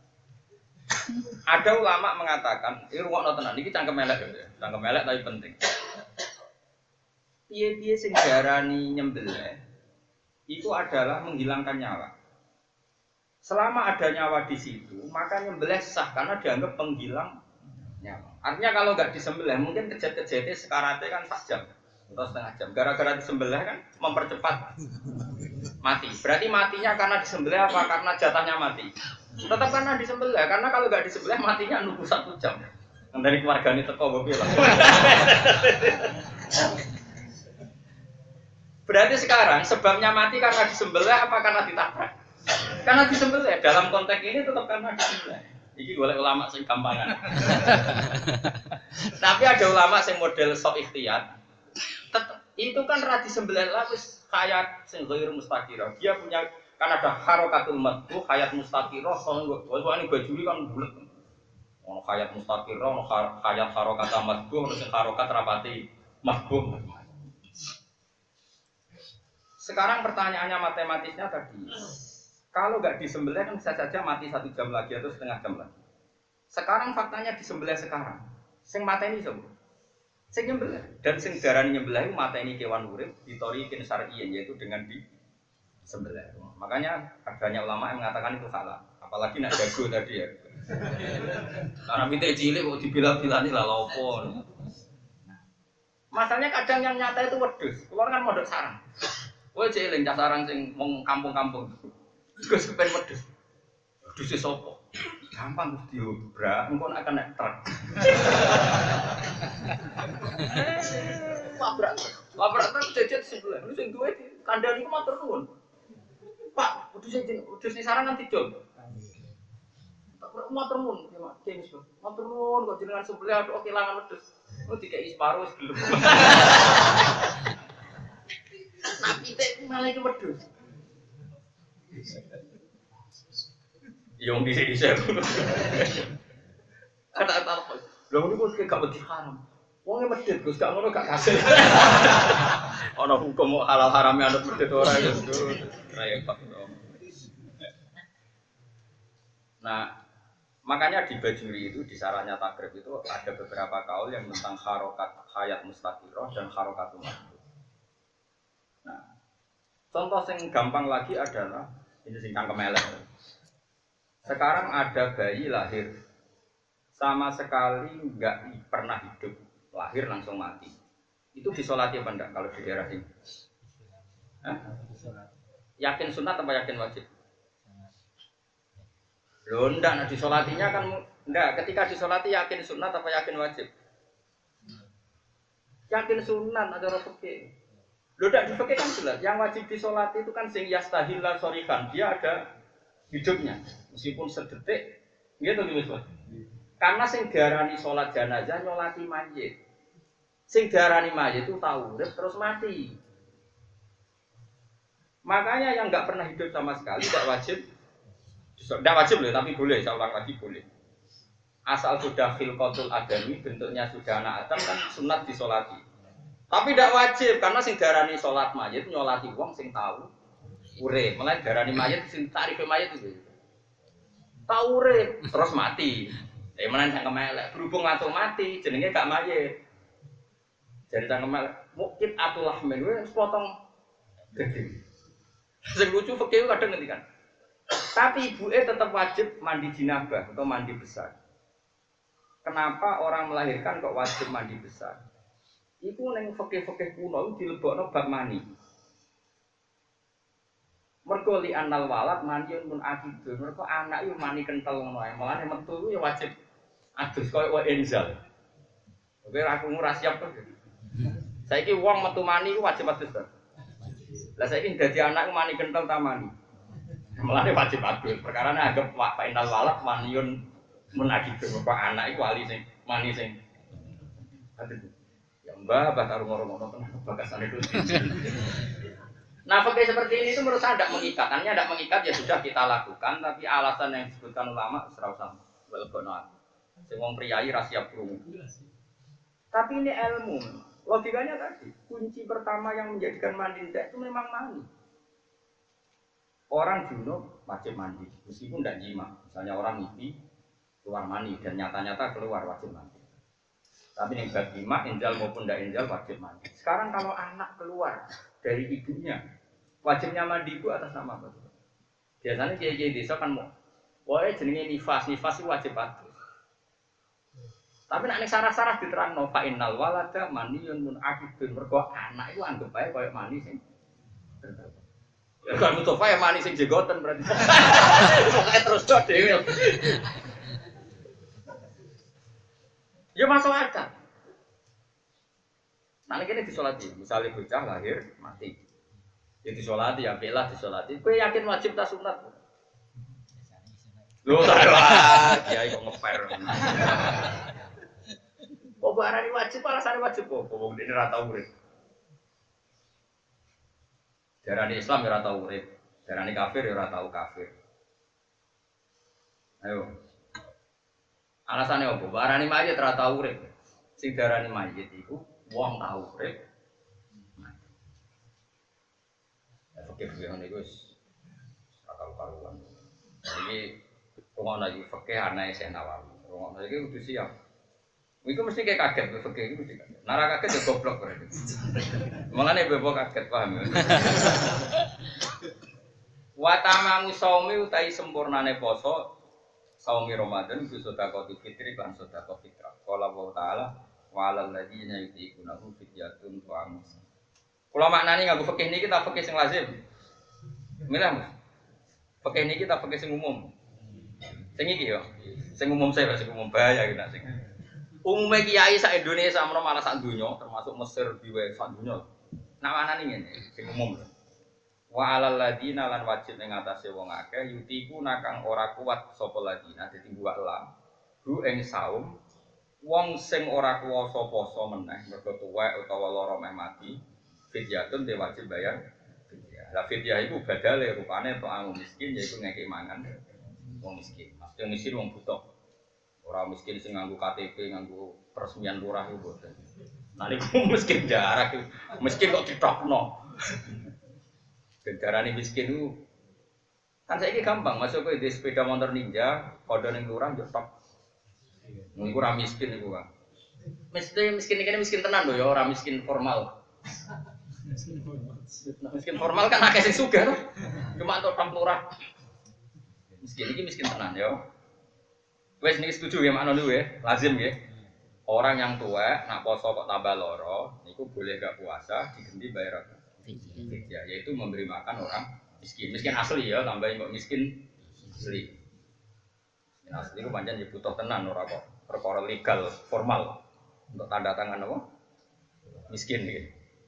ada ulama mengatakan, ini ruang tenan, ini cangkem elek ya, cangkem elek tapi penting. Piye-piye sing darani nyembelih itu adalah menghilangkan nyawa. Selama ada nyawa di situ, maka nyembelih sah karena dianggap penghilang nyawa. Artinya kalau nggak disembelih, mungkin kejet-kejetnya sekaratnya kan sak jam atau setengah jam. Gara-gara disembelih kan mempercepat mati. Berarti matinya karena disembelih apa? Karena jatahnya mati. Tetap karena disembelih, karena kalau nggak disembelih matinya nunggu satu jam. Yang dari keluarga ini teko gue bilang. Berarti sekarang sebabnya mati karena disembelih apa karena ditabrak? Karena disembelih. Dalam konteks ini tetap karena disembelih. Iki golek ulama sing gampangan. Tapi ada ulama sing model sok ikhtiyat. Itu kan ra disembelih lah wis hayat sing ghair mustaqirah. Dia punya kan ada harokatul madhu, hayat mustaqirah, soalnya bajuri kan bulet. Ono hayat mustaqirah, ono hayat harokat madhu, ono sing harokat rapati madhu. Sekarang pertanyaannya matematisnya tadi, kalau nggak disembelih kan bisa saja mati satu jam lagi atau setengah jam lagi. Sekarang faktanya disembelih sekarang, sing mateni semua, sing nyembelih dan sing darani nyembelih mateni kewan urip ditorikin syar'iyyan yaitu dengan disembelih. Makanya adanya ulama yang mengatakan itu salah, apalagi nak jago tadi ya. Karena pitik cilik kok dibilang-bilani lah lopo. Masalahnya kadang yang nyata itu wedhus, keluar kan modok sarang. Kowe jeling cah sarang sing wong kampung-kampung. Gus kepen wedhus. Wedhus e sapa? Gampang Gus diobrak, engko nek kena truk. Labrak. Labrak kan jejet sebelah. Lu sing duwe kandhani ku matur nuwun. Pak, kudu sing kudu sing sarang kan dijol. Tak matur nuwun, ya Mak. James, matur nuwun kok jenengan sebelah aduh kelangan wedhus. Oh dikei separo wis gelem. Nah, pitik malah iki wedhus. Yang dhisik-dhisik. Kata-kata apa? Lha ngono kok gak wedi haram. Wonge medhit Gus, gak ngono gak kasih. Ana hukum halal harame anut medhit ora ya, Gus. Repot. Nah, makanya di Bajuri itu di sarannya takrib itu ada beberapa kaul yang tentang harokat hayat mustaqirah dan harokatul makhluk. Nah, contoh yang gampang lagi adalah ini sing kangkem elek. Sekarang ada bayi lahir sama sekali nggak pernah hidup, lahir langsung mati. Itu disolati apa enggak kalau di daerah sini? Hah? Yakin sunat apa yakin wajib? Loh enggak, nah disolatinya kan enggak, ketika disolati yakin sunat apa yakin wajib? Yakin sunat ada orang fikih. Loh enggak di fikih kan jelas, yang wajib disolati itu kan sing yastahillah sorikan, dia ada hidupnya, meskipun sedetik, gitu gitu. Karena sing diarani sholat jenazah nyolati mayit, sing diarani mayit itu tahu urip terus mati. Makanya yang nggak pernah hidup sama sekali tidak wajib, tidak wajib loh, tapi boleh. Saya ulang lagi boleh. Asal sudah khilqatul adami, bentuknya sudah anak Adam kan sunat disolati. Tapi tidak wajib karena sing diarani sholat mayit nyolati wong sing tahu urip. Mulai diarani mayit sing tarife mayit itu. Tahu urip terus mati. Eh menan sang kemelek berhubung langsung mati jenenge gak mayit. Jadi sang kemelek mukit atulah men wis potong daging. Sing lucu fikih kadang ngendikan. Tapi ibuke tetap wajib mandi jinabah atau mandi besar. Kenapa orang melahirkan kok wajib mandi besar? Iku ning fikih-fikih kuno dilebokno bab mani. Mergo li anal walad maniyun mun akidun. Mergo anak yo mani kentel ngono ae. Mulane metu yo wajib adus koyo wae enzal. Oke aku ora siap to. Saiki wong metu mani ku wajib adus to. Lah saiki dadi anak mani kentel ta mani. Mulane wajib adus. Perkarane anggap wa inal walad maniyun mun akidun. Mergo anak iku wali sing mani sing adus. Ya mbah bah karo ngono-ngono tenan bakasane itu. Nah, fakih seperti ini itu menurut saya tidak mengikat. Hanya tidak mengikat ya sudah kita lakukan, tapi alasan yang disebutkan ulama serau sama. Welbono. Semua priayi rahasia perung. Tapi ini ilmu. Logikanya tadi, kunci pertama yang menjadikan mandi tidak itu memang mandi. Orang junub wajib mandi, meskipun tidak jima. Misalnya orang mimpi keluar mandi dan nyata-nyata keluar wajib mandi. Tapi yang bab jima, injal maupun tidak injal wajib mandi. Sekarang kalau anak keluar dari ibunya, wajibnya mandi itu atas nama apa? Biasanya kiai-kiai desa kan mau, wah jenenge nifas, nifas itu wajib adus. Tapi nak ning sarah-sarah diterangno fa innal walada maniyun mun akidun, mergo anak itu anggap ae koyo mani sing. Ya kan Mustafa ya mani sing jegoten berarti. Pokoke terus tok dhewe. Ya masuk akal. Nah ini disolati, misalnya bocah lahir mati, ya disolati, ya belah disolati. Kue yakin wajib tak sunat? Loh salah, kiai kok ngeper. Kok barang ini wajib, alasannya wajib kok. Kok ini rata urip. Darani Islam ya rata urip, darani kafir ya rata kafir. Ayo, alasannya apa? Barang ini mayit rata urip, sing darani mayit itu. Wong tahu urip. Ya fikih-fikih ngene iku wis akal karuan. Iki ngono iki fikih ana Syekh Nawawi. Ngono iki kudu siap. Iku mesti kayak kaget fikih iki mesti kaget. Nara kaget ya goblok berarti. Mulane bebo kaget paham ya. Wa tamamu shaumi utai sempurnane poso saumi Ramadan ku sedekah fitri lan sedekah fitrah. Qala wa ta'ala walal ladina yutiqunahu fidyatun ta'am. Kula maknani nganggo fikih niki ta fikih sing lazim. Milih Mas. Fikih niki ta fikih sing umum. Sing iki yo. Sing umum saya sing umum bahaya iki nak sing. Umumnya kiai sak Indonesia menawa malah sak dunya, termasuk Mesir biwe sak dunya. Nak manane ngene, sing umum lho. Wa alal ladina lan wajib ing atase wong akeh yutiku nakang ora kuat sapa ladina dadi buak lam. Bu ing saum wong sing ora kuwasa poso meneh mergo tuwek utawa lara meh mati fidyatun te wajib bayar fidyah. Lah fidyah iku badale rupane tok miskin yaiku ngekek mangan wong miskin. Maksudnya miskin wong butuh. Ora miskin sing nganggo K T P, nganggo peresmian lurah iku boten. Nah niku miskin jarak miskin kok ditokno. Darane miskin itu kan saiki gampang masuk ke di sepeda motor ninja, kode ning lurah yo tok. Niku ora miskin niku, Kang. Miskin miskin iki miskin tenan lho ya, ora miskin formal. Miskin formal kan akeh sing sugih to. Cuma tok tok lurah. Miskin iki miskin tenan ya. Wes niki setuju ya makna niku ya, lazim ya. Orang yang tua nak poso kok tambah loro, niku boleh gak puasa diganti bayar apa? Ya, yaitu memberi makan orang miskin, miskin asli ya, tambahin kok miskin asli. Miskin asli itu pancen ya butuh tenan ora kok perkara legal formal untuk tanda tangan apa? Miskin iki.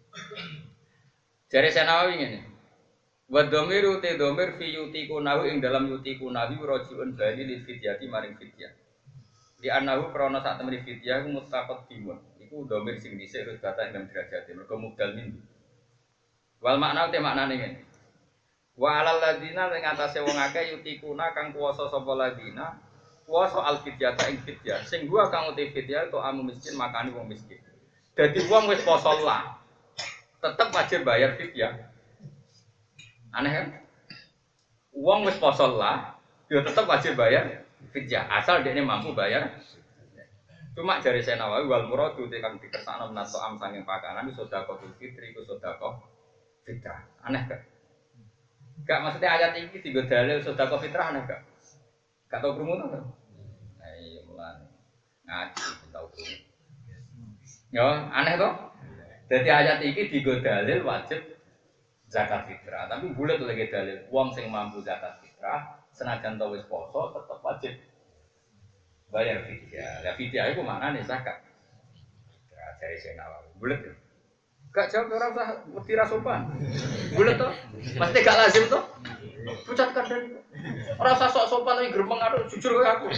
Jare Senawi ngene. Wa dhamiru te dhamir fi yutiku nahu ing dalam yutiku nahu rajiun bali li fidyati maring fidyah. Di anahu krana sak temene fidyah muttaqad dimun. Iku dhamir sing dhisik terus kata ing derajat mergo mudal min. Wal makna te maknane ngene. Wa alal ladina ing atase wong akeh yutikuna kang kuwasa sapa ladina, kuwasa al fidyata ing fidyah. Sing gua kang uti fidyah to amu miskin makani wong miskin. Dadi wong wis poso lah, tetep wajib bayar fidyah. Aneh kan? Wong wis poso lah, yo tetep wajib bayar fidyah asal dekne mampu bayar. Cuma jari Senawawi wal muradu te kang dikersakno menato am sanging pakanan sedekah fitri ku sedekah fitrah. Aneh gak? Gak maksudnya ayat ini tiga dalil sedekah fitrah aneh gak? Gak tau krungu to? Nah iya mulane ngaji tau krungu. Yo aneh to? Jadi ayat ini tiga dalil wajib zakat fitrah, tapi bulat lagi dalil wong sing mampu zakat fitrah senajan tau wis poso tetep wajib bayar fidyah. Ya fidyah itu maknane zakat. Ya dari Senawawi bulat. Gak jawab ora usah wedi ra sopan. Bulet to? Pasti gak lazim to? Pucat kandhani. Ora usah sok sopan tapi gremeng aduh jujur koyo aku.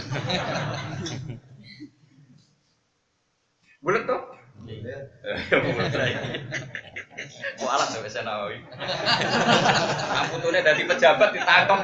Bulet to? Mau alat sampai Senawawi. Amputune dadi pejabat ditangkap.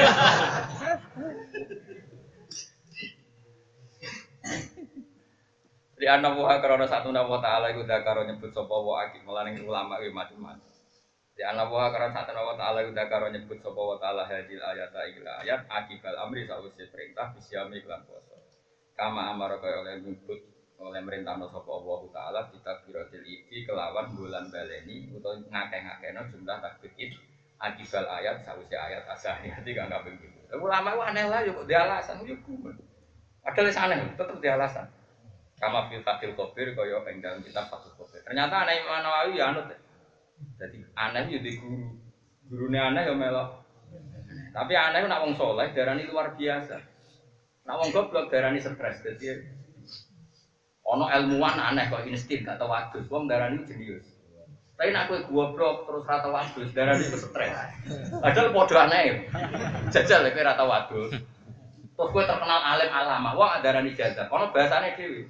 Di anak buah karena satu nama taala itu dah karo nyebut sopo wa akik melaning ulama itu macam-macam. Di anak buah karena satu nama taala itu dah karo nyebut sopo wa taala hadil ayat ayat ayat akibal amri sausi perintah bisyami iklan poso. Kama amar kaya oleh nyebut oleh merintah no sopo Allah taala kita birotil iki kelawan bulan baleni atau ngakeh-ngakehno jumlah takbir it akibal ayat sausi ayat asahnya tiga nggak begitu. Ulama itu aneh lah yuk dia alasan yuk kumen. Ada alasan tetap dia alasan. Kama fil fatil kobir kaya ing dalam kitab Fathul Kobir. Ternyata aneh Imam Nawawi ya anut. Jadi aneh yo di guru. Gurune aneh yo melok. Tapi aneh nak wong saleh darani luar biasa. Nak wong goblok darani stres. Dadi ono ilmuwan aneh kok insting gak tau wadus. Wong darani jenius. Tapi nak kowe goblok terus ra tau wadus darani iku stres. Padahal padha aneh. Jajal kowe ra tau wadus. Terus kowe terkenal alim alama. Wong darani jajal. Ono bahasane dhewe.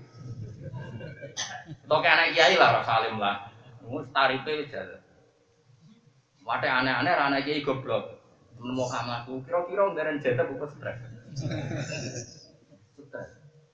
Toke anak kiai lah, rasa alim lah. Mus tarife jalan. Wate aneh-aneh ra anak kiai goblok. Nemu kamaku, kira-kira ngaren jatah buku stres. Stres.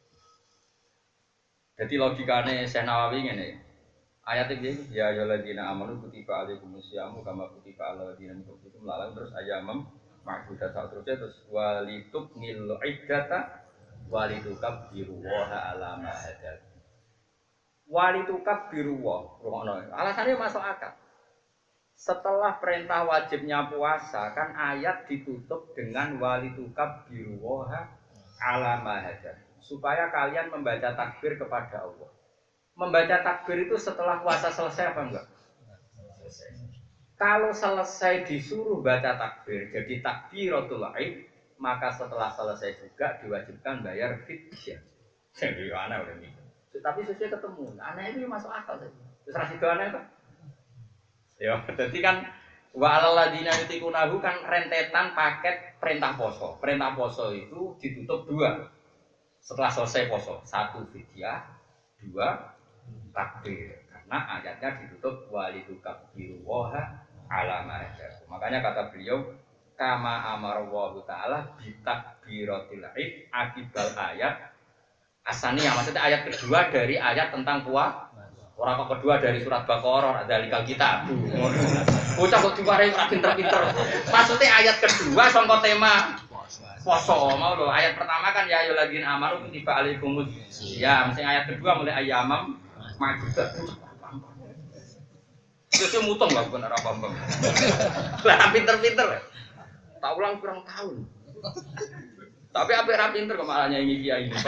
Jadi logikane Syekh Nawawi ngene. Ayat iki ya ayyuhalladzina amanu kutiba alaikumusyamu kama kutiba alal ladzina min qablikum la'allakum terus ayamam ma'dudat terusnya terus walitubnil iddata walitukabbiru wa ala ma hadakum. Wali tukab biruwa, alasannya masuk akal. Setelah perintah wajibnya puasa, kan ayat ditutup dengan wali tukab biruwa ala mahajat, supaya kalian membaca takbir kepada Allah. Membaca takbir itu setelah puasa selesai apa enggak? Selesai. Kalau selesai disuruh baca takbir, jadi takbiratul aid, maka setelah selesai juga diwajibkan bayar fidyah. Jadi aneh udah mikir. Tapi sesuai ketemu. Aneh itu masuk akal saja. Terus rasi aneh kan? Ya, jadi kan wa alal ladina yutikunahu kan rentetan paket perintah poso. Perintah poso itu ditutup dua. Setelah selesai poso, satu fidyah, dua takbir. Karena ayatnya ditutup walidukabbiru waha ala ma hadakum. Makanya kata beliau kama amara wa ta'ala bitakbiratil id akibal ayat asaniyah. Maksudnya ayat kedua dari ayat tentang puasa. Orang kok kedua dari surat Baqarah ada likal kita. Bocah kok diwarai ora pinter-pinter. Maksudnya ayat kedua sangka tema poso mau lho. Ayat pertama kan ya ayyuhalladzina amanu kutiba alaikumus ya, mesti ayat kedua mulai ayyamam ma'dudat. Itu mutong lah bukan ora paham. Lah pinter-pinter. Tak ulang kurang tahun. Tapi apa ra pinter kok malah nyanyi kiai ini.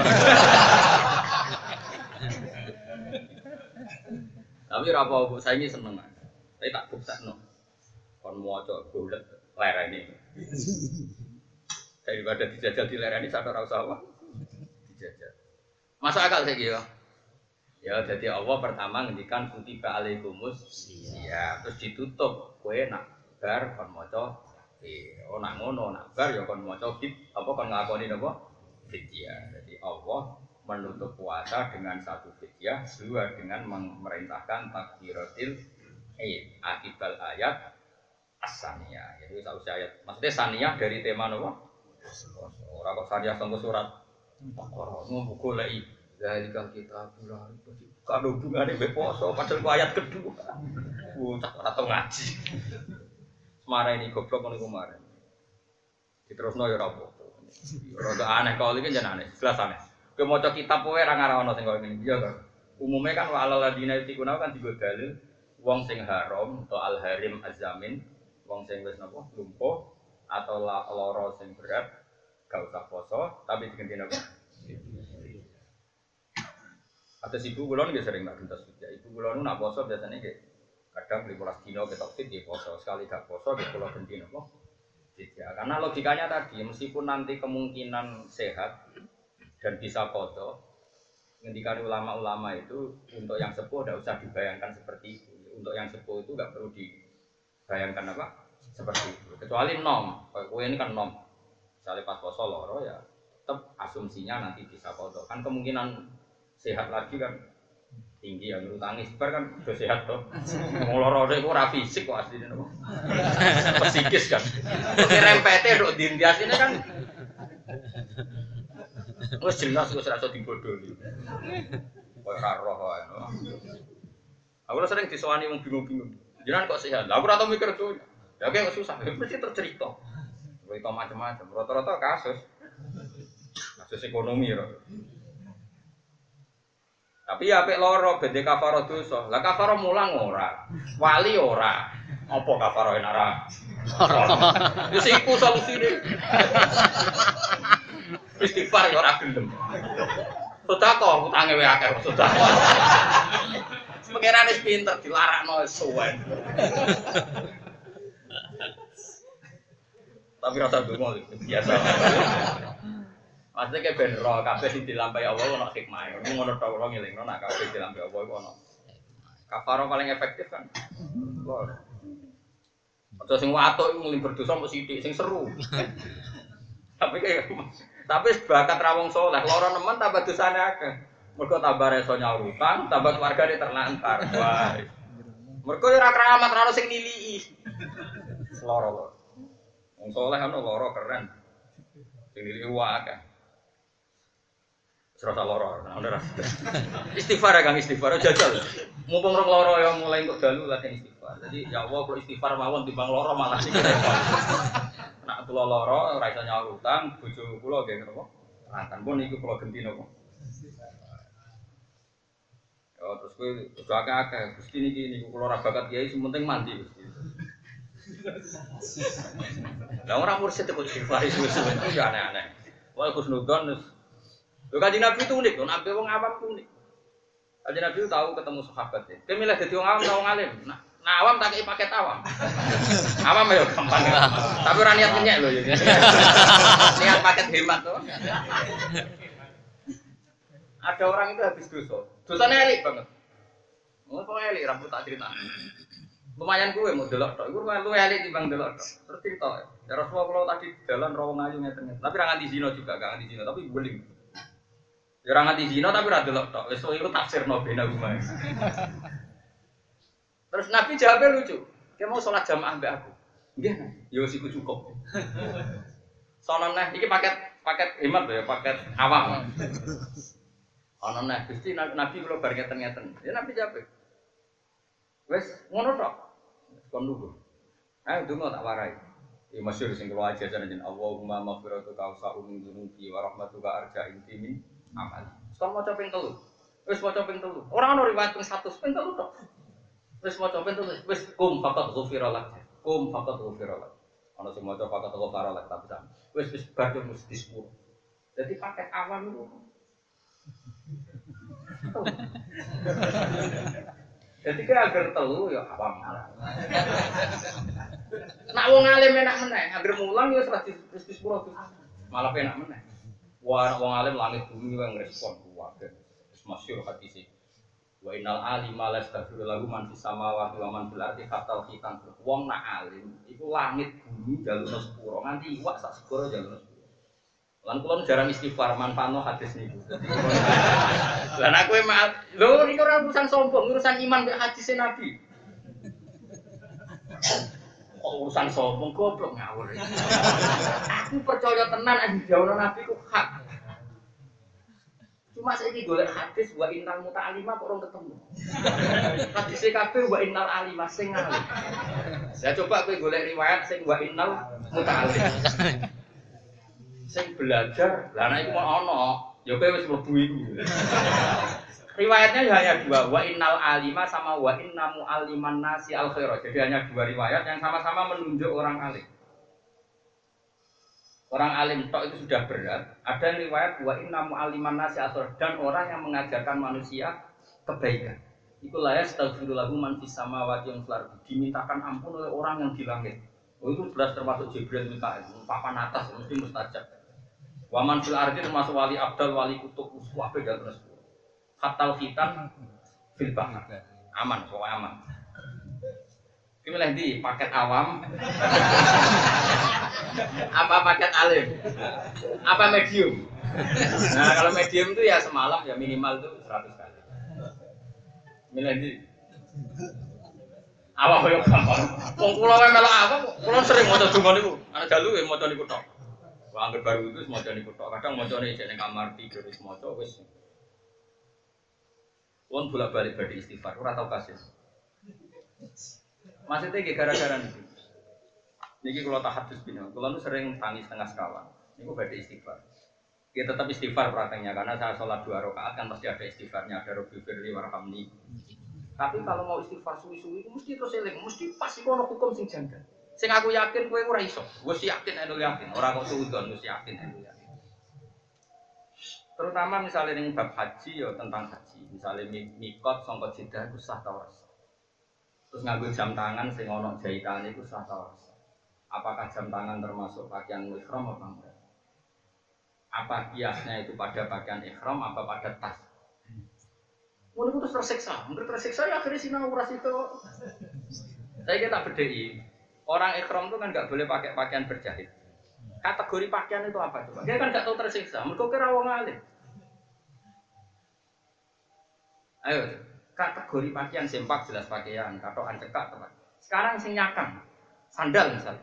Tapi ora apa-apa, saya ini seneng. Saya tak buksakno. Kon maca golek lerene. Daripada dijajal di lerene sak ora usah apa. Dijajal. Masuk akal saiki ya. Ya jadi Allah pertama ngendikan kutiba alaikumus ya, terus ditutup kowe nak bar kon maca eh oh nak ngono nak bar ya kon maca fit apa kon ngakoni napa fidyah. Jadi Allah menutup puasa dengan satu fidyah, dua dengan memerintahkan takbiratil id akibal ayat as-saniyah. Jadi sausé ayat. Maksudnya saniyah dari tema napa? Ora kok saniyah sangko surat Baqarah. Ngono goleki zalikal kitabul kan hubungane mbek poso padahal ku ayat kedua. Bocah ora tau ngaji. Semara ini goblok ngono kemarin. Diterusno ya ora apa-apa. Ora aneh kalau iki jan aneh, jelas aneh. Kowe maca kitab kowe ora ngarah ana sing koyo ngene. Iya to. Umume kan wa alal ladina yutiquna kan digo dalil wong sing haram atau al harim azamin, wong sing wis napa lumpuh atau lara sing berat gak usah poso tapi diganti napa? Atas ibu kula nggih sering tak gentos ya. Ibu kula nu nak poso biasanya nggih kadang lima belas dino ketok fit nggih poso, sekali gak poso nggih kula ganti napa? Ya, karena logikanya tadi meskipun nanti kemungkinan sehat dan bisa qadha, ngendikan ulama-ulama itu untuk yang sepuh tidak usah dibayangkan seperti itu. Untuk yang sepuh itu nggak perlu dibayangkan apa seperti itu. Kecuali nom, kowe ini kan nom. Misalnya pas poso loro ya, tetap asumsinya nanti bisa qadha. Kan kemungkinan sehat lagi kan tinggi ya, menurut tangis bar kan udah sehat toh. Wong loro itu ora fisik kok asline napa. Psikis kan. Oke rempete nduk ndi asline kan. Wes jelas wis ora iso dibodholi. Kok ora roh wae. Aku sering disowani wong bingung-bingung. Jenengan kok sehat? Lah aku ora tau mikir tuh. Ya kok susah, mesti tercerita. Cerita macam-macam. Rata-rata kasus. Kasus ekonomi ya. Tapi ya apik loro bede kafaro dosa. Lah kafaro mulang ora. Wali ora. Apa kafaro enak ora? Wis iku solusine. Istighfar ya ora gelem. Sedekah utange wae akeh sedekah. Pengiran wis pinter dilarakno suwen. Tapi rasa donga biasa. Maksudnya kayak ben roh kabeh sing dilampahi Allah ono hikmah. Ngono tok ora ngelingno nek kabeh dilampahi Allah iku ono. Kafarah paling efektif kan. Lho. Aja sing watuk iku nglim berdosa mbok sithik sing seru. Tapi kayak tapi bakat ra wong saleh, lara nemen tambah dosane akeh. Mergo tambah reso nyaur utang, tambah keluargane terlantar. Wah. Mergo ora keramat ora sing niliki. Lara lho. Wong saleh ana lara keren. Sing niliki wae akeh. Serasa loro, nah udah istighfar ya kang istighfar, jajal. Mumpung rong loro ya mulai untuk dalu latihan istighfar. Jadi ya Allah kalau istighfar mawon timbang loro malah sih. Nak tulo loro, raisa nyawa utang, bojo kulo gak ngerti kok. Rantan pun ikut kulo genti nopo. Ya terus gue kudu akeh-akeh, gusti niki niku kulo ra bakat kiai, sementing mandi gusti. Lah ora mursid kok istighfar itu ya aneh-aneh. Wah Gus Nudon lho Kanjeng Nabi itu unik, nabi wong awam itu unik. Kanjeng Nabi tahu ketemu sahabat ya. Dia milih dadi wong awam atau wong alim. Nah, nah awam tak kei paket awam. Awam ya gampang. Tapi ora niat nyek lho ya. Niat paket hemat to. Ada orang itu habis dosa. Dosanya elik banget. Oh, kok elik rambut tak cerita. Lumayan gue mau delok tok. Iku lu elik timbang delok tok. Terus cerita. Ya Rasulullah kalau tadi jalan rawang ayu ngeten. Tapi ra nganti zina juga, gak nganti zina, tapi guling. Ya ra nganti zina tapi ra delok tok. Wis iku tafsirno bena rumah. Terus Nabi jawabnya lucu. Dia mau sholat jamaah mbak aku. Nggih, ya wis iku cukup. Sono neh iki paket paket hemat ya, paket awam. Ana neh Gusti Nabi kula bar ngeten-ngeten. Ya Nabi jawab. Wis ngono tok. Kon lugu. Ayo donga tak warai. Ya masyhur sing kula ajaran jeneng Allahumma maghfiratuka awsa'u min dzunubi wa rahmatuka arja intimi amal. Sekarang maca ping telu. Wis maca ping telu. Ora ana riwayat ping seratus ping telu tok. Wis maca ping telu. Wis kum faqat ghufira lak. Kum faqat ghufira lak. Ana sing maca faqat ghufara lak tapi sama. Wis wis badhe mesti sepuluh. Jadi paket awam itu. Jadi kira agar telu ya awam. Nak wong alim enak meneh, agar mulang ya seratus sepuluh malah enak meneh. Wah, wong alim langit bumi yang respon kuwatir. Wis masyhur hadis iki. Wa innal alima lastaghfiru lahu man fis samawati wa man fil ardi hatta khitan. Wong nak alim iku langit bumi jalur sepuro nganti iwak sak segoro jalur sepuro. Lan kula jarang istighfar manfaatno hadis niku. Lan aku emang lho niku ora urusan sombong, urusan iman mek hadis Nabi. Kok urusan sombong goblok ngawur. Aku percaya tenan nek dawuh Nabi ku hak. Cuma saiki golek hadis wa innal muta'allimah kok ora ketemu. Hadis kabeh wa innal alimah sing ngalim. Saya coba kowe golek riwayat sing wa innal muta'allim. Sing belajar, lah nek iku mau ana, ya kowe wis mlebu iku. Riwayatnya hanya dua, wa innal alima sama wa inna mu'alliman nasi al khairah. Jadi hanya dua riwayat yang sama-sama menunjuk orang alim. Orang alim tok itu sudah berat. Ada riwayat wa inna mu'alliman nasi al khairah dan orang yang mengajarkan manusia kebaikan. Itulah ya astaghfirullahu man fis samawati wal ardi. Dimintakan ampun oleh orang yang di langit. Oh itu jelas termasuk Jibril Mikail, papan atas mesti mustajab. Waman fil ardi termasuk wali abdal, wali kutub, kabeh dan terus. Hatal khitan fil bahr. Aman, kok aman. Iki milih ndi? Paket awam. Apa paket alim? Apa medium? Nah, kalau medium itu ya semalam ya minimal itu seratus kali. Milih ndi? Awak koyo gampang. Wong kula wae melok awak, kula sering maca donga niku. Ana dalu ya maca niku tok. Wong anggere baru itu maca niku tok. Kadang macane jek ning kamar tidur wis maca wis. Wong bolak-balik badhe istighfar, ora tau kasil. Maksudnya nggih gara-gara niku. Niki kula tahadus bina. Kula nu sering tangis tengah sekawan. Niku badhe istighfar. Ya tetap istighfar prakteknya karena saya sholat dua rakaat kan pasti ada istighfarnya, ada Rabbi firli warhamni. Tapi kalau mau istighfar suwi-suwi itu mesti terus eling, mesti pas iku ana hukum sing janggal. Sing aku yakin kowe ora iso. Wis yakin nek yakin, ora kok suudon wis yakin nek yakin. Terutama misalnya ning bab haji ya tentang haji. Misalnya mikot sangka Jeddah iku sah ta ora sah. Terus nganggo jam tangan sing ana jahitane iku sah ta ora sah. Apakah jam tangan termasuk pakaian ihram apa enggak? Apa kiasnya itu pada pakaian ihram apa pada tas? Mulai terus tersiksa, mungkin tersiksa ya akhirnya sinau uras itu. Saya kira tak bedai. Orang ikhram itu kan nggak boleh pakai pakaian berjahit. Kategori pakaian itu apa coba? Dia kan nggak tahu tersiksa. Mereka kira wong alim. Ayo, kategori pakaian sempak jelas pakaian, katokan cekak teman. Sekarang sing nyakang, sandal misalnya.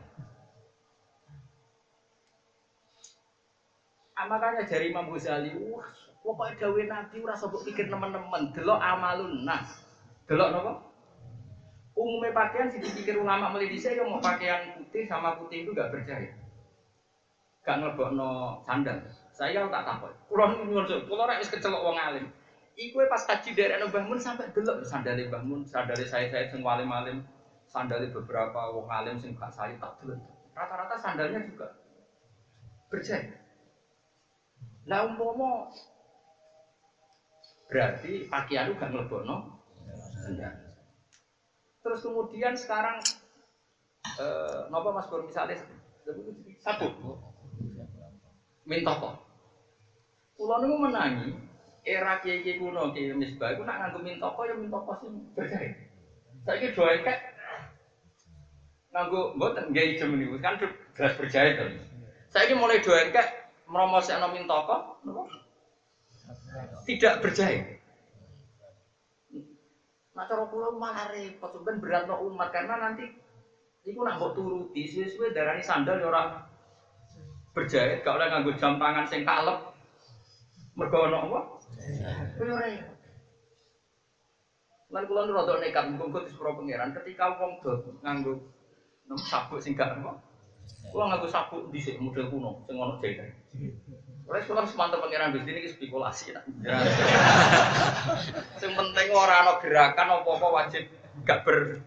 Ah, makanya dari Imam Ghazali, wah, pokoknya dawe Nabi ora usah pikir teman-teman, delok amalun nas. Delok napa? Umumnya pakaian sih dipikir ulama melidisi ya mau pakaian putih sama putih itu enggak berjahit. Gak nglebokno sandal. Saya tak takut. Kulo nyuwun, kulo ora wis kecelok wong alim. Iku pas haji daerah Mbah Mun sampai delok sandale Mbah Mun, sandale saya-saya sing alim-alim, sandale beberapa wong alim sing gak saya tak delok. Rata-rata sandalnya juga berjahit. Lah umpama berarti pakaian itu gak nglebokno sandal. Terus kemudian sekarang eh napa Mas Bur misalnya sabuk minta kok. Kula niku menangi era kiai-kiai kuno kiai Misbah iku nak nganggo mintoko ya mintoko sing berjahit. Saiki do ekek nganggo mboten nggih ijem niku kan jelas berjahit to. Saiki mulai do ekek mromosekno mintoko napa? Tidak berjahit. Nah cara kula malah repot ben beratno umat karena nanti iku nak mbok turuti suwe-suwe darani sandal ya ora berjahit, gak oleh nganggo jam tangan sing kalep. Mergo ana apa? Kuwi ora. Lan kula nu rada nekat mung-mung disepuro pangeran ketika wong do nganggo nem sabuk sing gak apa. Kula nganggo sabuk dhisik model kuno sing ana jahit. Ora kula semantep pangeran Gusti niki spekulasi tak. Sing penting ora ana gerakan apa-apa wajib gak ber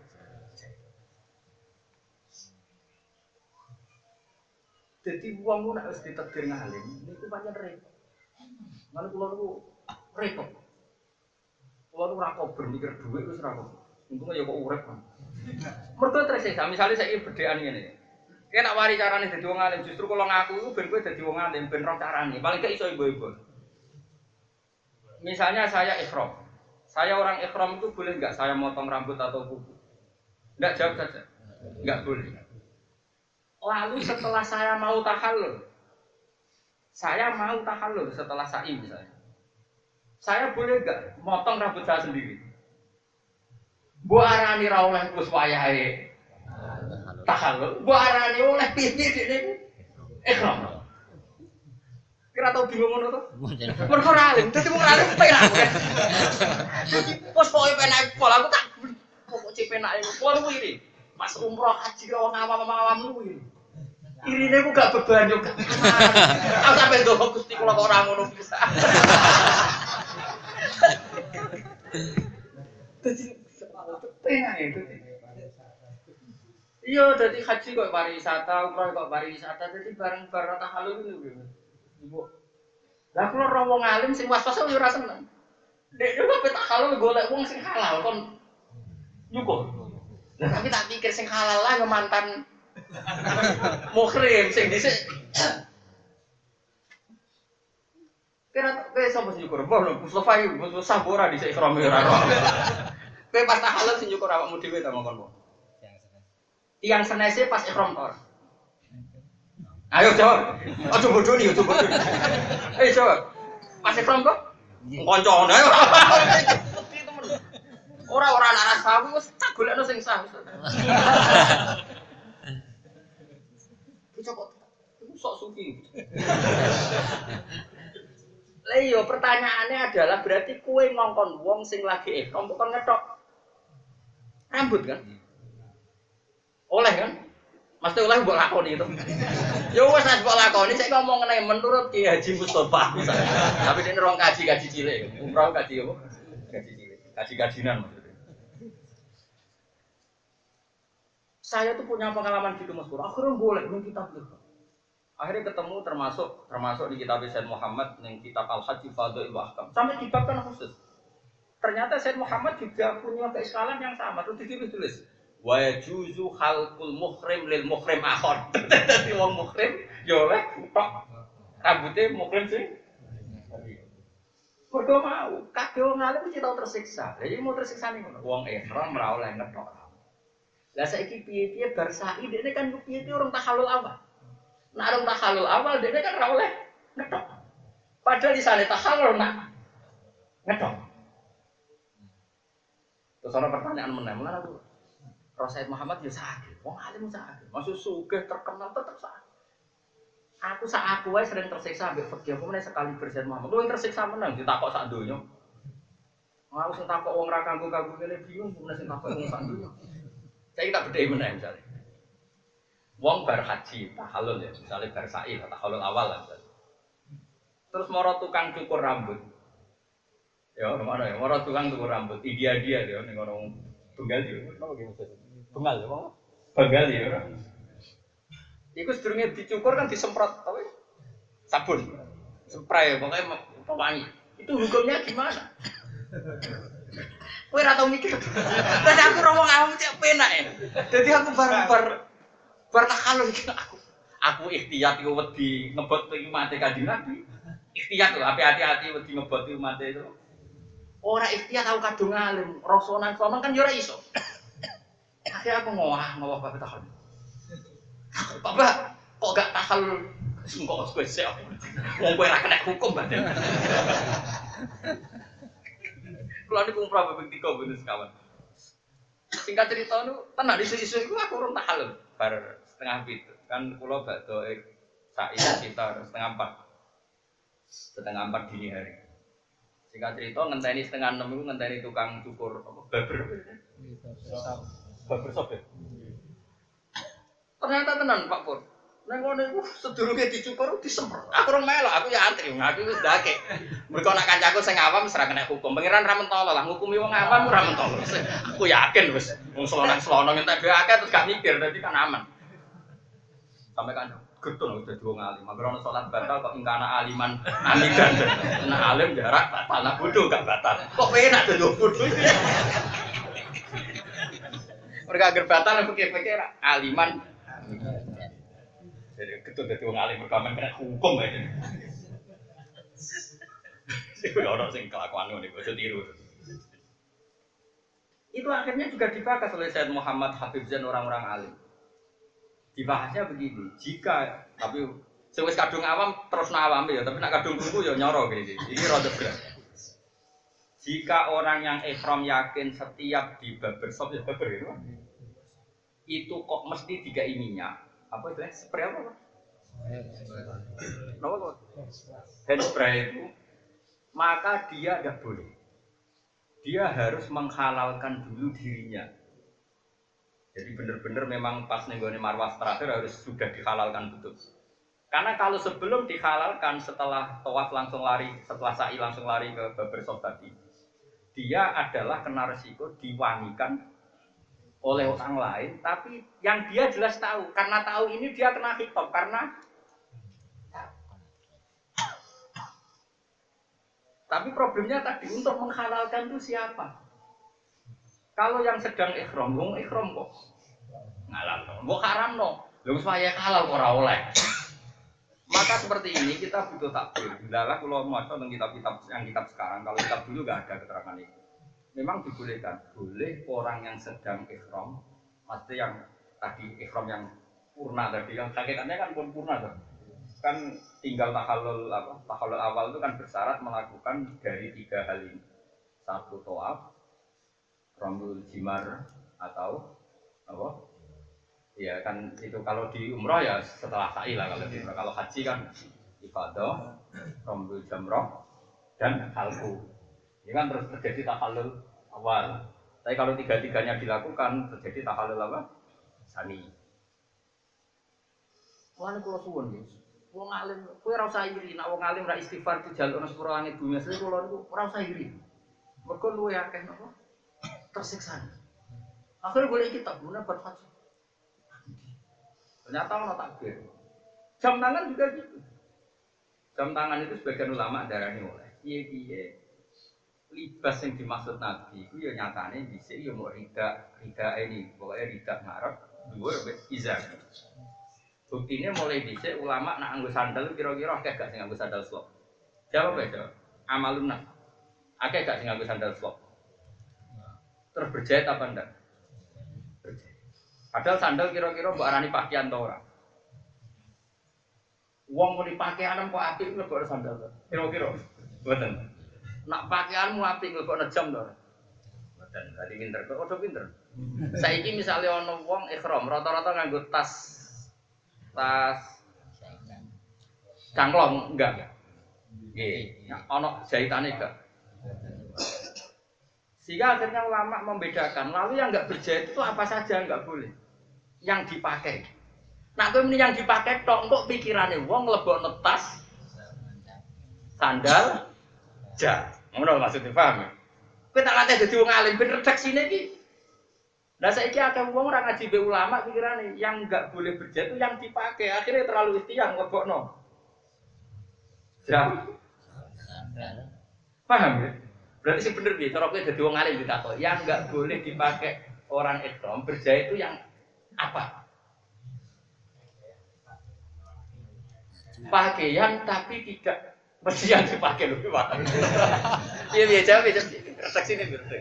Jadi uang lu nak harus ditakdir ngalim, itu banyak repot. Mana pulau lu repot. Pulau lu rakop bermikir duit itu serakop. Untungnya ya kok urep kan. Mereka tersiksa. Misalnya saya berdean ini, kayak nak wari carane jadi uang ngalim. Justru kalau ngaku itu ben gue jadi uang ngalim, ben rong carane. Paling gak iso ibu-ibu. Misalnya saya ikhram, saya orang ikhram itu boleh nggak saya motong rambut atau kuku? Nggak, jawab saja. Nggak boleh. Lalu setelah saya mau tahallul, saya mau tahallul setelah sa'i misalnya, saya boleh nggak motong rambut saya sendiri? Bu arani ra oleh kus wayahe tahallul, bu arani oleh piye ini ikhram. Kira tau bingung ngono to? Mergo ora alim, dadi wong alim penak. Dadi pos pokoke penak pola aku tak pokok cek penak iku. Pola kuwi Mas umroh haji karo awam-awam kuwi. Irine ku gak beban yo gak. Aku sampe ndonga Gusti kula kok ora ngono bisa. Dadi penak itu. Iya, dadi haji kok pariwisata, umroh kok pariwisata, dadi bareng-bareng tahallul niku. Ibu. Lah kula ora wong alim sing was-was yo ora seneng. Dek yo kok tahallul golek wong sing halal kon nyukur. Lah tapi tak pikir sing halal lah yo mantan muhrim sing dhisik. Kira kowe sapa sing nyukur? Mbah Mustofa iki Mustofa ora dhisik ikhram ora ora. Kowe pas tahallul sing nyukur awakmu dhewe ta mongkon. Yang senese pas ikhram to. Ayo jawab. Aja bodoh nih, aja bodoh. Ayo jawab. Pas ikhram kok? Koncone ayo. Ora-ora anak rasa wis tak golekno sing sah. Iki kok iku sok suki. Lah iya pertanyaannya adalah berarti kowe ngongkon wong sing lagi ihram kok ngethok rambut kan? Oleh kan? Mesti oleh mbok lakoni itu. Ya wis nek mbok lakoni sik ngomong ngene menurut Ki Haji Mustofa misalnya. Tapi nek rong kaji-kaji cilik, umroh kaji apa? Kaji cilik. Kaji-kajinan maksudnya. Saya tuh punya pengalaman gitu Mas Pur. Akhirnya boleh ning kitab itu. Akhirnya ketemu termasuk termasuk di kitab Sayyid Muhammad ning kitab Al-Hajj Fadhil wa Ahkam. Sampai dibabkan khusus. Ternyata Sayyid Muhammad juga punya keiskalan yang sama. Terus ditulis wa yajuzu khalqul muhrim lil muhrim akhar. Dadi wong muhrim ya oleh tok rambute muhrim sing mergo mau kabeh wong alim mesti tau tersiksa. Lah iki mau tersiksa ning ngono. Wong ihram ora oleh ngethok. Lah saiki piye-piye bar sa'i dekne kan piye-piye orang tahallul awal. Nek orang tahallul awal dekne kan ora oleh ngethok. Padahal isane tahallul nak ngethok. Terus ana pertanyaan meneh, meneh aku Rasul Muhammad ya sakit, wong alim sakit. Maksud sugih terkenal tetep sakit. Aku sak aku wae sering tersiksa ambek fikih, apa meneh sekali bersen Muhammad. Lu tersiksa menang ditakok sak donya. Aku sing takok wong ra kanggo-kanggo kene bingung, meneh sing takok wong sak donya. Saya kita bedai meneh misalnya. Wong bar haji tahallul ya, misalnya bar sa'i tahallul awal lah. Terus moro tukang cukur rambut. Ya, mana ya? Moro tukang cukur rambut. Dia dia dia ning orang Bengal dia. Napa ki maksud? Bengal ya, Pak? Bengal ya ora. Iku sedurunge dicukur kan disemprot apa? Sabun. Spray pokoknya pewangi. Itu hukumnya gimana? Kowe ora tau mikir. Terus aku ngomong awam cek penak ya. Dadi aku bar-bar bar tahallul iki aku. Aku ikhtiyat iku wedi ngebot iki mate Kanjeng Nabi. Ikhtiar tuh, hati-hati wedi ngeboti umat itu. Ora ikhtiar tahu kadung alim, rosonan sono kan yo ora iso. Akhirnya aku ngowah, ngowah bapak tahun. Bapak, kok gak tahal engko kowe sik. Wong kowe ora kena hukum badan. Kulo niku umrah ping tiga bener sekawan. Singkat cerita nu tenan isu-isu iku aku urung tahal bar setengah pitu. Kan kulo badhe sak sekitar setengah empat. Setengah empat dini hari. Singkat cerita ngenteni setengah enam itu ngenteni tukang cukur apa baber. Baber sop ya. Ternyata tenan Pak Pur. Nang ngono iku sedurunge dicukur disemprot. Aku ora melok, aku ya antri, aku wis ndake. Mergo nek kancaku sing awam wis ora kena hukum. Pangeran ra mentolo lah ngukumi wong awam ora mentolo. Aku yakin wis wong selonang-selonang entek dhewe akeh terus gak mikir dadi kan aman. Sampai kan gedung udah dua ngalim. Mager ono salat batal kok ingkana aliman amidan. Nah alim jarak batal, nah bodoh gak batal. Kok enak dadi bodoh. Mereka agar batal aku pikir-pikir aliman jadi gedung dadi wong alim mergo kena hukum aja. Sing ora sing kelakuan ngene kok tiru. Itu akhirnya juga dibahas oleh Said Muhammad Habib Zain orang-orang alim. Dibahasnya begini, jika tapi sing wis kadung awam terus awam ya, tapi nek kadung kuku ya nyoro gini. Ini rada berat. Jika orang yang ihram yakin setiap di barbershop ya barber itu, itu kok mesti dikai minyak. Apa itu? Spray apa? Apa kok? Hand spray itu, maka dia tidak boleh. Dia harus menghalalkan dulu dirinya. Jadi benar-benar memang pas nenggone marwah terakhir harus sudah dihalalkan betul. Karena kalau sebelum dihalalkan setelah tawaf langsung lari, setelah sa'i langsung lari ke barbershop tadi, dia adalah kena resiko diwangikan oleh orang lain, tapi yang dia jelas tahu, karena tahu ini dia kena khitab karena tapi problemnya tadi untuk menghalalkan itu siapa? Kalau yang sedang ikhram, wong ikhram kok ngalal, kok haram no, lho supaya halal kok ora oleh. Maka seperti ini kita butuh takbir. Hendaklah kalau maca tentang kitab-kitab yang kitab sekarang, kalau kitab dulu nggak ada keterangan itu. Memang dibolehkan, boleh orang yang sedang ikhram, pasti yang tadi ikhram yang purna tadi, yang hakikatnya kan pun purna tuh. Kan tinggal tahallul apa? Tahallul awal itu kan bersyarat melakukan dari tiga hal ini. Satu tawaf, rambul jimar atau apa? Ya kan itu kalau di umrah ya setelah sa'i lah kalau di umrah. Kalau haji kan ifadah, rambul jamrah dan halqu. Ini kan terus terjadi tahallul awal. Tapi kalau tiga-tiganya dilakukan terjadi tahallul apa? Sani. Wong kula suwun nggih. Wong alim, kowe ora usah iri, nek wong alim ra istighfar dijaluk nang sepuro langit bumi, asline kula niku ora usah iri. Mergo luwe akeh napa? Tersiksa. Akhirnya boleh kitab guna buat haji. Ternyata ono takbir. Jam tangan juga gitu. Jam tangan itu sebagian ulama darani oleh. Piye-piye libas yang dimaksud Nabi itu ya nyatane dhisik ya mau rida rida ini pokoknya rida ngarep dhuwur izar. Buktinya mulai dhisik ulama nak nganggo sandal kira-kira akeh gak sing nganggo sandal slop. Jawab ya, jawab. Amalun nas. Akeh gak sing nganggo sandal slop. Terus berjahit apa ndak? Berjahit. Padahal sandal kira-kira mbok arani pakaian ta ora? Wong muni pakaian kok apik lebok sandal to. Kira-kira. Mboten. Nak pakaianmu apik lebokno jam to. Mboten. Dadi pinter kok padha pinter. Saiki misale ana wong ihram rata-rata nganggo tas tas cangklong enggak. Nggih. Ana jahitane enggak. Sehingga akhirnya ulama membedakan. Lalu yang enggak berjahit itu apa saja enggak boleh. Yang dipakai. Nah, kowe muni yang dipakai tok kok pikirane wong mlebokno tas sandal jar. Ngono maksudnya paham ya? Kowe tak latih dadi wong alim ben redaksine iki. Lah saiki akeh wong ora ngaji be ulama pikirane yang enggak boleh berjahit itu yang dipakai. Akhirnya terlalu istiang mlebokno. Jar. Paham ya? Berarti sing bener piye cara kowe dadi wong alim ditakok, yang enggak boleh dipakai orang ihram berjahit itu yang apa? Pakaian tapi tidak Mesti yang dipakai lho Pak. Iya biasa jawab ya. Saksi ini berarti.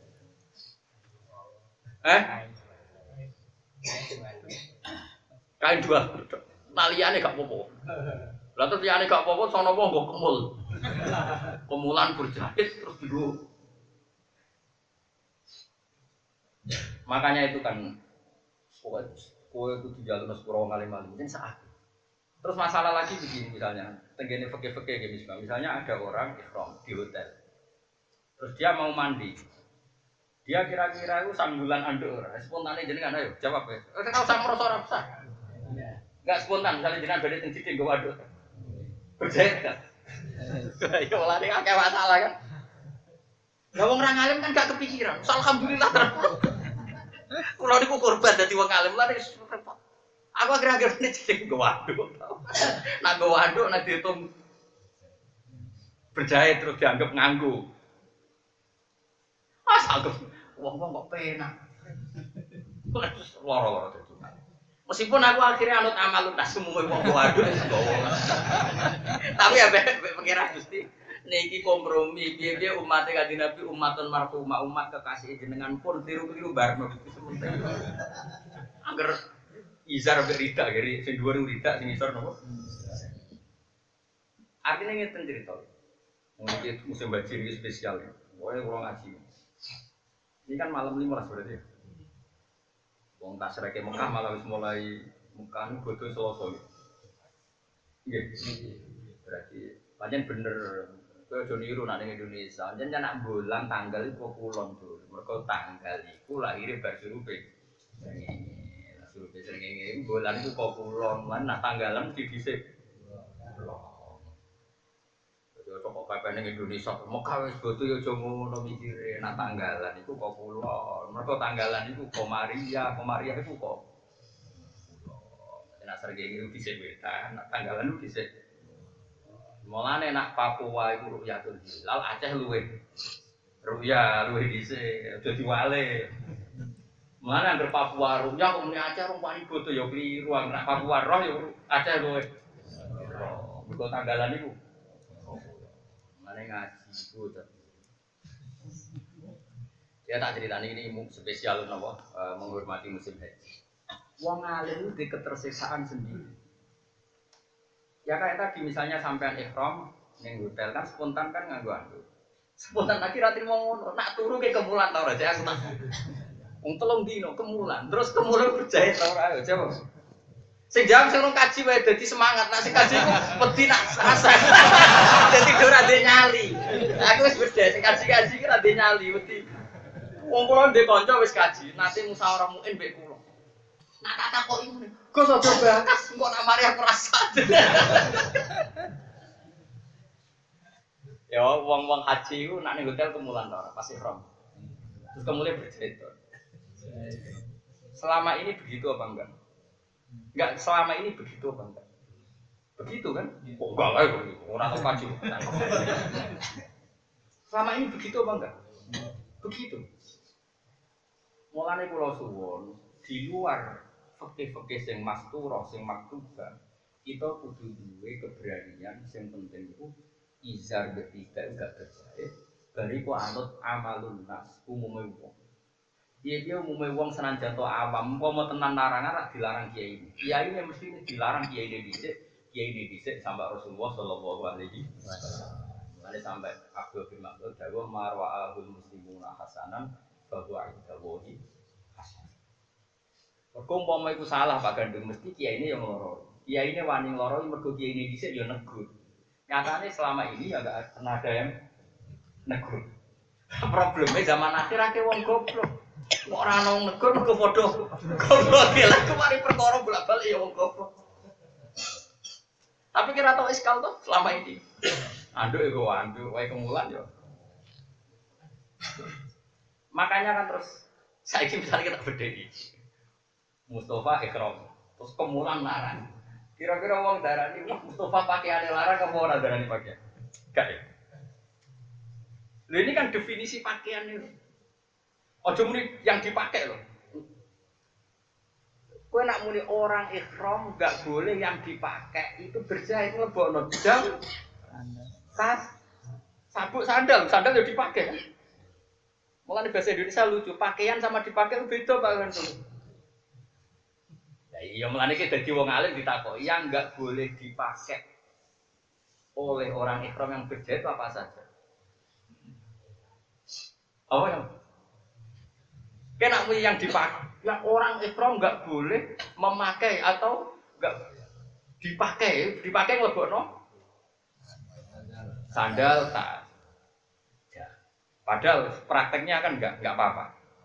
Eh? Kain dua. Taliane gak apa-apa. Lah terus liyane gak apa-apa sono wong nggo kemul. Kemulan berjahit terus dulu. Makanya itu kan kowe kowe kudu jalur sepuro ngalim-alim mungkin saat. Terus masalah lagi begini misalnya, tenggene fikih-fikih gitu misalnya. Misalnya ada orang ihram di hotel. Terus dia mau mandi. Dia kira-kira itu sambulan anduk ora. Spontane jenengan ayo jawab ya. Ora usah merasa ora usah. Enggak spontan misalnya jenengan badhe teng Cideng nggo waduk. Berjahit kan? Ya malah nek akeh masalah kan. Lah wong ra ngalim kan gak kepikiran. Alhamdulillah terus. Kulo niku korban dadi wong alim lha repot. Aku akhir-akhir ini jadi nggo waduk. Nak nggo waduk nak diitung berjahit terus dianggap nganggu. Asal wong-wong kok penak. Loro-loro dadi. Meskipun aku akhirnya anut amalun tas umum wong nggo waduk nggowo. Tapi ya pengira Gusti niki kompromi piye-piye umat Kanjeng Nabi umatun marhumah umat kekasih jenengan pun tiru-tiru bareng Gusti sementing. Angger izar mbek rida geri sing dhuwur rida sing isor napa? Artinya ngeten cerita. Mungkin musim bajir ini spesial ya. Pokoknya kurang ngaji. Ini kan malam lima belas berarti ya. Wong tasreke Mekah malah wis mulai Mekah niku bodho Selasa. Nggih. Berarti pancen bener kowe aja niru nek ning Indonesia. Pancen nek bulan tanggal iku kulon tuh. Mergo tanggal iku lahire bar surupe. Surupe srengenge bulan iku kok kulon, lan nek tanggalan mesti dhisik. Kok pepe ning Indonesia Mekah wis bodho ya aja ngono mikire nek tanggalan iku kok kulon. Mergo tanggalan iku Komaria, Komaria iku kok nek srengenge iku dhisik wetan, nek tanggalan iku dhisik. Mulane nak Papua iku Rukyatul Hilal, Aceh luwih. Rukya luwih dhisik, aja diwale. Mulane anggere Papua Rukya kok muni Aceh rong wani bodo ya kliru, nak Papua roh ya Aceh luwih. Mergo tanggalan iku. Mulane ngaji iku to. Ya tak ceritani ini spesial napa menghormati musim haji. Wong alim itu ketersiksaan sendiri. Ya kayak tadi misalnya sampean ihram ning hotel kan spontan kan nganggo anduk. Spontan lagi ra trimo ngono, nak turu ke kemulan ta ora jek aku tak. Wong telung dino kemulan, terus kemulan berjahit ta ora ayo jawab. Sing jawab sing kaji wae dadi semangat, nak sing kaji ku wedi nak rasa. Dadi ora ndek nyali. Aku wis berjahit sing kaji-kaji ki ra ndek nyali wedi. Wong kula ndek kanca wis kaji, nate musyawarah muin mbek kula. Nak tak takoki ngene. Gus aja bakas, engko nak mari aku rasa. Ya wong-wong haji ku nak ning hotel kemulan ta ora pas ihram. Terus kemudian berjahit. Selama ini begitu apa enggak? Enggak, selama ini begitu apa enggak? Begitu kan? Oh, enggak lah, orang tahu kaji. Selama ini begitu apa enggak? Begitu. Mulane kula suwun di luar fikih-fikih sing masturah, sing maktubah, kita kudu duwe keberanian sing penting iku izar ketiga enggak berjahit, bariku anut amalun nas umume wong. Dia-dia umume wong senajan to awam, umpama tenan larangan rak dilarang kiai ini. Kiai ini mesti dilarang kiai ini dhisik, kiai ini dhisik sampai Rasulullah sallallahu alaihi wasallam. Mane sampai Abdul bin Mas'ud dawuh marwa'ahul muslimuna hasanan bahwa indallahi hasan. Kok umpama iku salah Pak Gandung mesti kiai ini yang loro. Kiai ini wani loro mergo kiai ini dhisik ya negur. Nyatane selama ini ya enggak pernah ada yang negur. Problemnya zaman akhir akeh wong goblok. Kok ora ana wong negur mergo padha goblok lha kemari perkara bolak-balik ya wong goblok. Tapi kira tau iskal tuh selama ini. Anduk iku anduk wae kemulan yo. Makanya kan terus saiki misalnya kita bedheki. Mustafa ikram, terus kemulan larang. Kira-kira wong darani Mustafa pakaiane larang apa ora darani pakaian? Gak ya. Lha ini kan definisi pakaian ini. Ojo muni yang dipakai loh. Kowe nak muni orang ihram enggak boleh yang dipakai itu berjahit lebokno jam Tas, sabuk sandal, sandal ya dipakai kan? Mulai bahasa Indonesia lucu, pakaian sama dipakai beda Pak kan tuh. Ya iya mulane iki dadi wong alim ditakoki yang enggak boleh dipakai oleh orang ihram yang berjahit apa saja. Apa yang? Kena yang dipakai, yang orang ihram enggak boleh memakai atau enggak dipakai, dipakai nglebokno sandal tas. Ya. Padahal prakteknya kan enggak enggak apa-apa.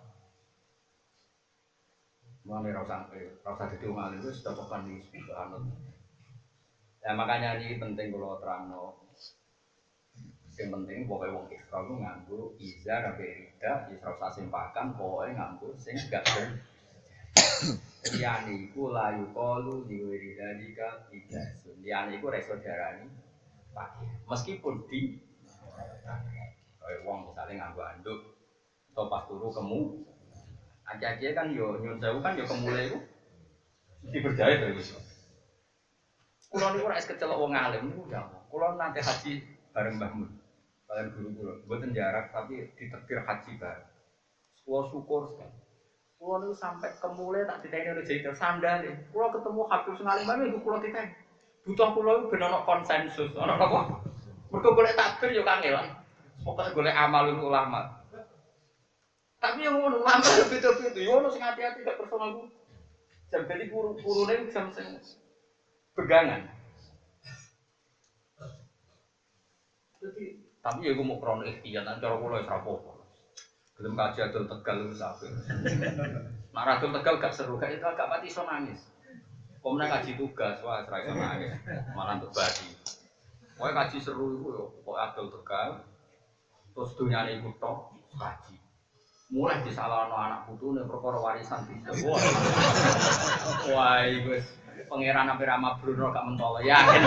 Mulane ora usah ora usah dadi wong alim wis cocokan iki subhanallah. Ya makanya ini penting kalau terangno. Yang penting pokoknya wong ihram ku nganggo izar sampai rida, ya ora usah simpakan, pokoknya nganggo sing gak ben. Liyane iku layu qalu diwiridalika ijasun. Liyane iku reso darani pakai. Meskipun di kaya wong misale nganggo anduk atau pas turu kemu aja-aja kan yo nyun sewu kan yo kemule iku mesti berjahit lho iso. Kulo niku ora es kecelok wong alim niku ya. Kulo nanti haji bareng Mbah Mun. Kalian guru kulo, mboten jarak tapi ditektir haji bareng. Kulo syukur sekali. Kulo niku sampai kemule tak diteni oleh jahit sandal. Kulo ketemu Habib sing alim niku kulo diteni. Butuh kulo iku ben ono konsensus, ono apa? Mergo golek takbir yo kangelan. Pokoke golek amalul ulama. Tapi yang ngono ulama yo beda-beda. Yo ono sing hati-hati gak personal ku. Jam dadi guru-gurune jam sing pegangan. Jadi, tapi ya gue mau krono ikhtiar, nanti cara gue ora apa-apa. Gelem kaji adol Tegal wis apik. Nek adol Tegal gak seru, gak itu agak pati iso nangis. Komene kaji tugas, wah ora iso nangis. Malah untuk badi. Pokoke kaji seru iku yo kok adol Tegal. Terus dunyane iku tok kaji. Mulai disalahno anak putune perkara warisan bisa. Wah. Wah, iku wis pangeran hampir ama Bruno gak mentolo yakin.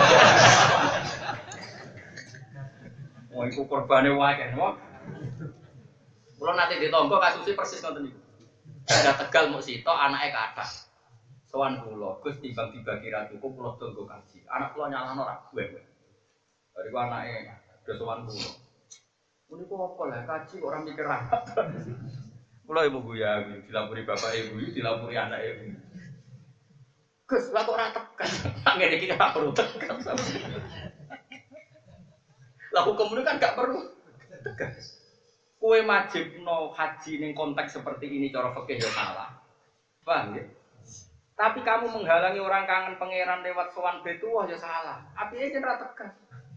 Wah, iku korbane wae kan. Kulo nate ditompo kasusé persis ngoten niku. Ada Tegal muk sitok anake kathah. Sowan kula, Gus timbang dibagi ra cukup kula tonggo kaji. Anak kula nyalahno ra gue. Bariku anake do sowan kula. Niku apa lah kaji kok ora mikir rapat. Kula ibu guya dilapuri bapak ibu, dilapuri anak ibu. Gus, lah kok ora tekan. Ngene iki ora perlu tekan. Lah hukum itu kan gak perlu tegas. Kue wajibno haji ning konteks seperti ini cara fikih ya salah. Paham ya? Tapi kamu menghalangi orang kangen pangeran lewat sowan betuwah ya salah. Apike yen ora tegas.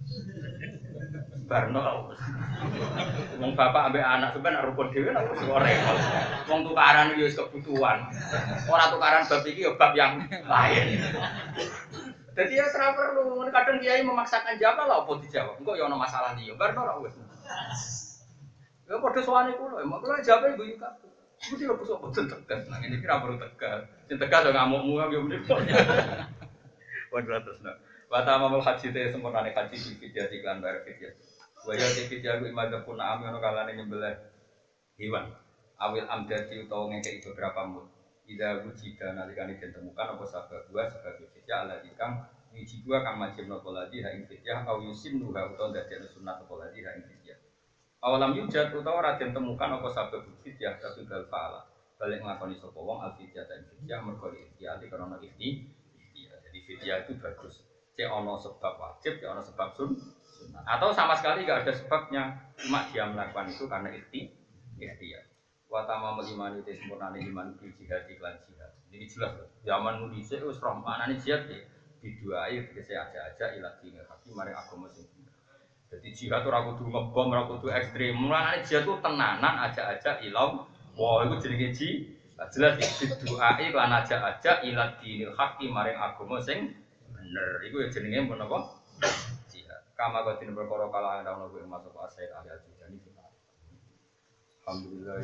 Barno. Wong bapak ambek anak sampean nek rukun dhewe nek wis repot. Wong tukaran yo wis kebutuhan. Ora tukaran bab iki ya bab yang lain. Jadi ya serah perlu, kadang kiai memaksakan jawab lah apa dijawab. Engko ya ono masalah liya, bar ora wis. Ya padha sowane kula, mak kula jawab ibuika. Mesti lho kok boten tegas, nang ngene iki ra perlu tegas. Sing tegas yo ngamukmu yo mriko. Waduh terus nak. Wa tamamul haji te sempurnane haji iki jadi iklan bayar fidyah. Wa ya fidyah ku imadah pun am ono kalane nyembelih hewan. Awil amdati utawa ngekeki beberapa mut. Ida wujida nalikane ditemukan apa sabab dua sebagai fidyah ala ikang wiji dua kang majib nopo ladi ha ing fidyah au yusim nuha utawa dadekne sunat apa ladi ha ing fidyah. Awalam yujad utawa ora ditemukan apa sabab fidyah tapi bal faala balik nglakoni sapa wong al fidyah dan fidyah mergo ikhtiar karena ikhtiar. Jadi fidyah itu bagus. Cek ana sebab wajib, cek ana sebab sun sunat. Atau sama sekali enggak ada sebabnya, cuma dia melakukan itu karena ikhtiar. Wa tamamul iman itu sempurnane iman bil jihad iklan jihad. Ini jelas loh. Zaman nu dhisik wis roh manane jihad iki diduai tegese aja-aja ila dine hakim maring agama sing bener. Dadi jihad ora kudu ngebom, ora kudu ekstrem. Mulane jihad ku tenanan aja-aja ilau. Wah, iku jenenge jihad. Jelas diduai lan aja-aja ila dinil hakim maring agama sing bener. Iku ya jenenge menapa? Jihad. Kama kok dene perkara kala ana ono masuk asai ahli al-jihad. Alhamdulillah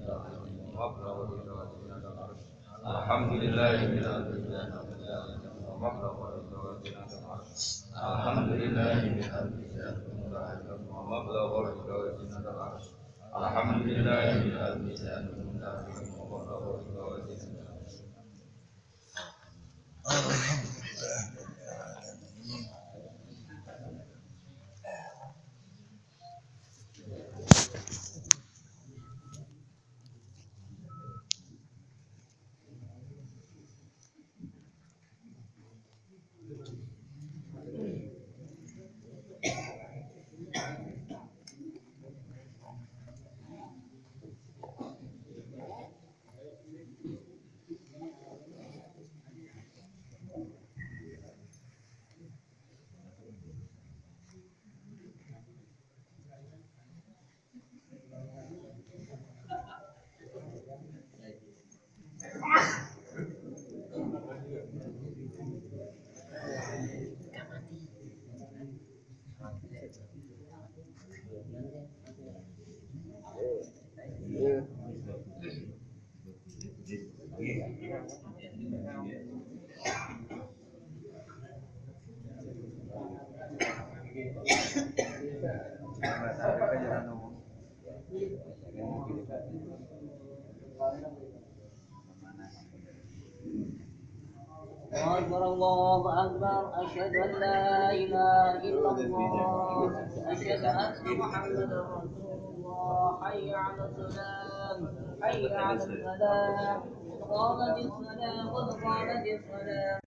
Alhamdulillah ومبلغ الرضا جنة العرش الحمد لله بحمده ومبلغ الرضا جنة العرش الحمد لله بحمده ومبلغ الرضا جنة العرش أكبر الله أكبر أشهد أن لا إله إلا الله أشهد أن محمدا رسول الله حي على الصلاة حي على الفلاح قد قامت الصلاة قد قامت الصلاة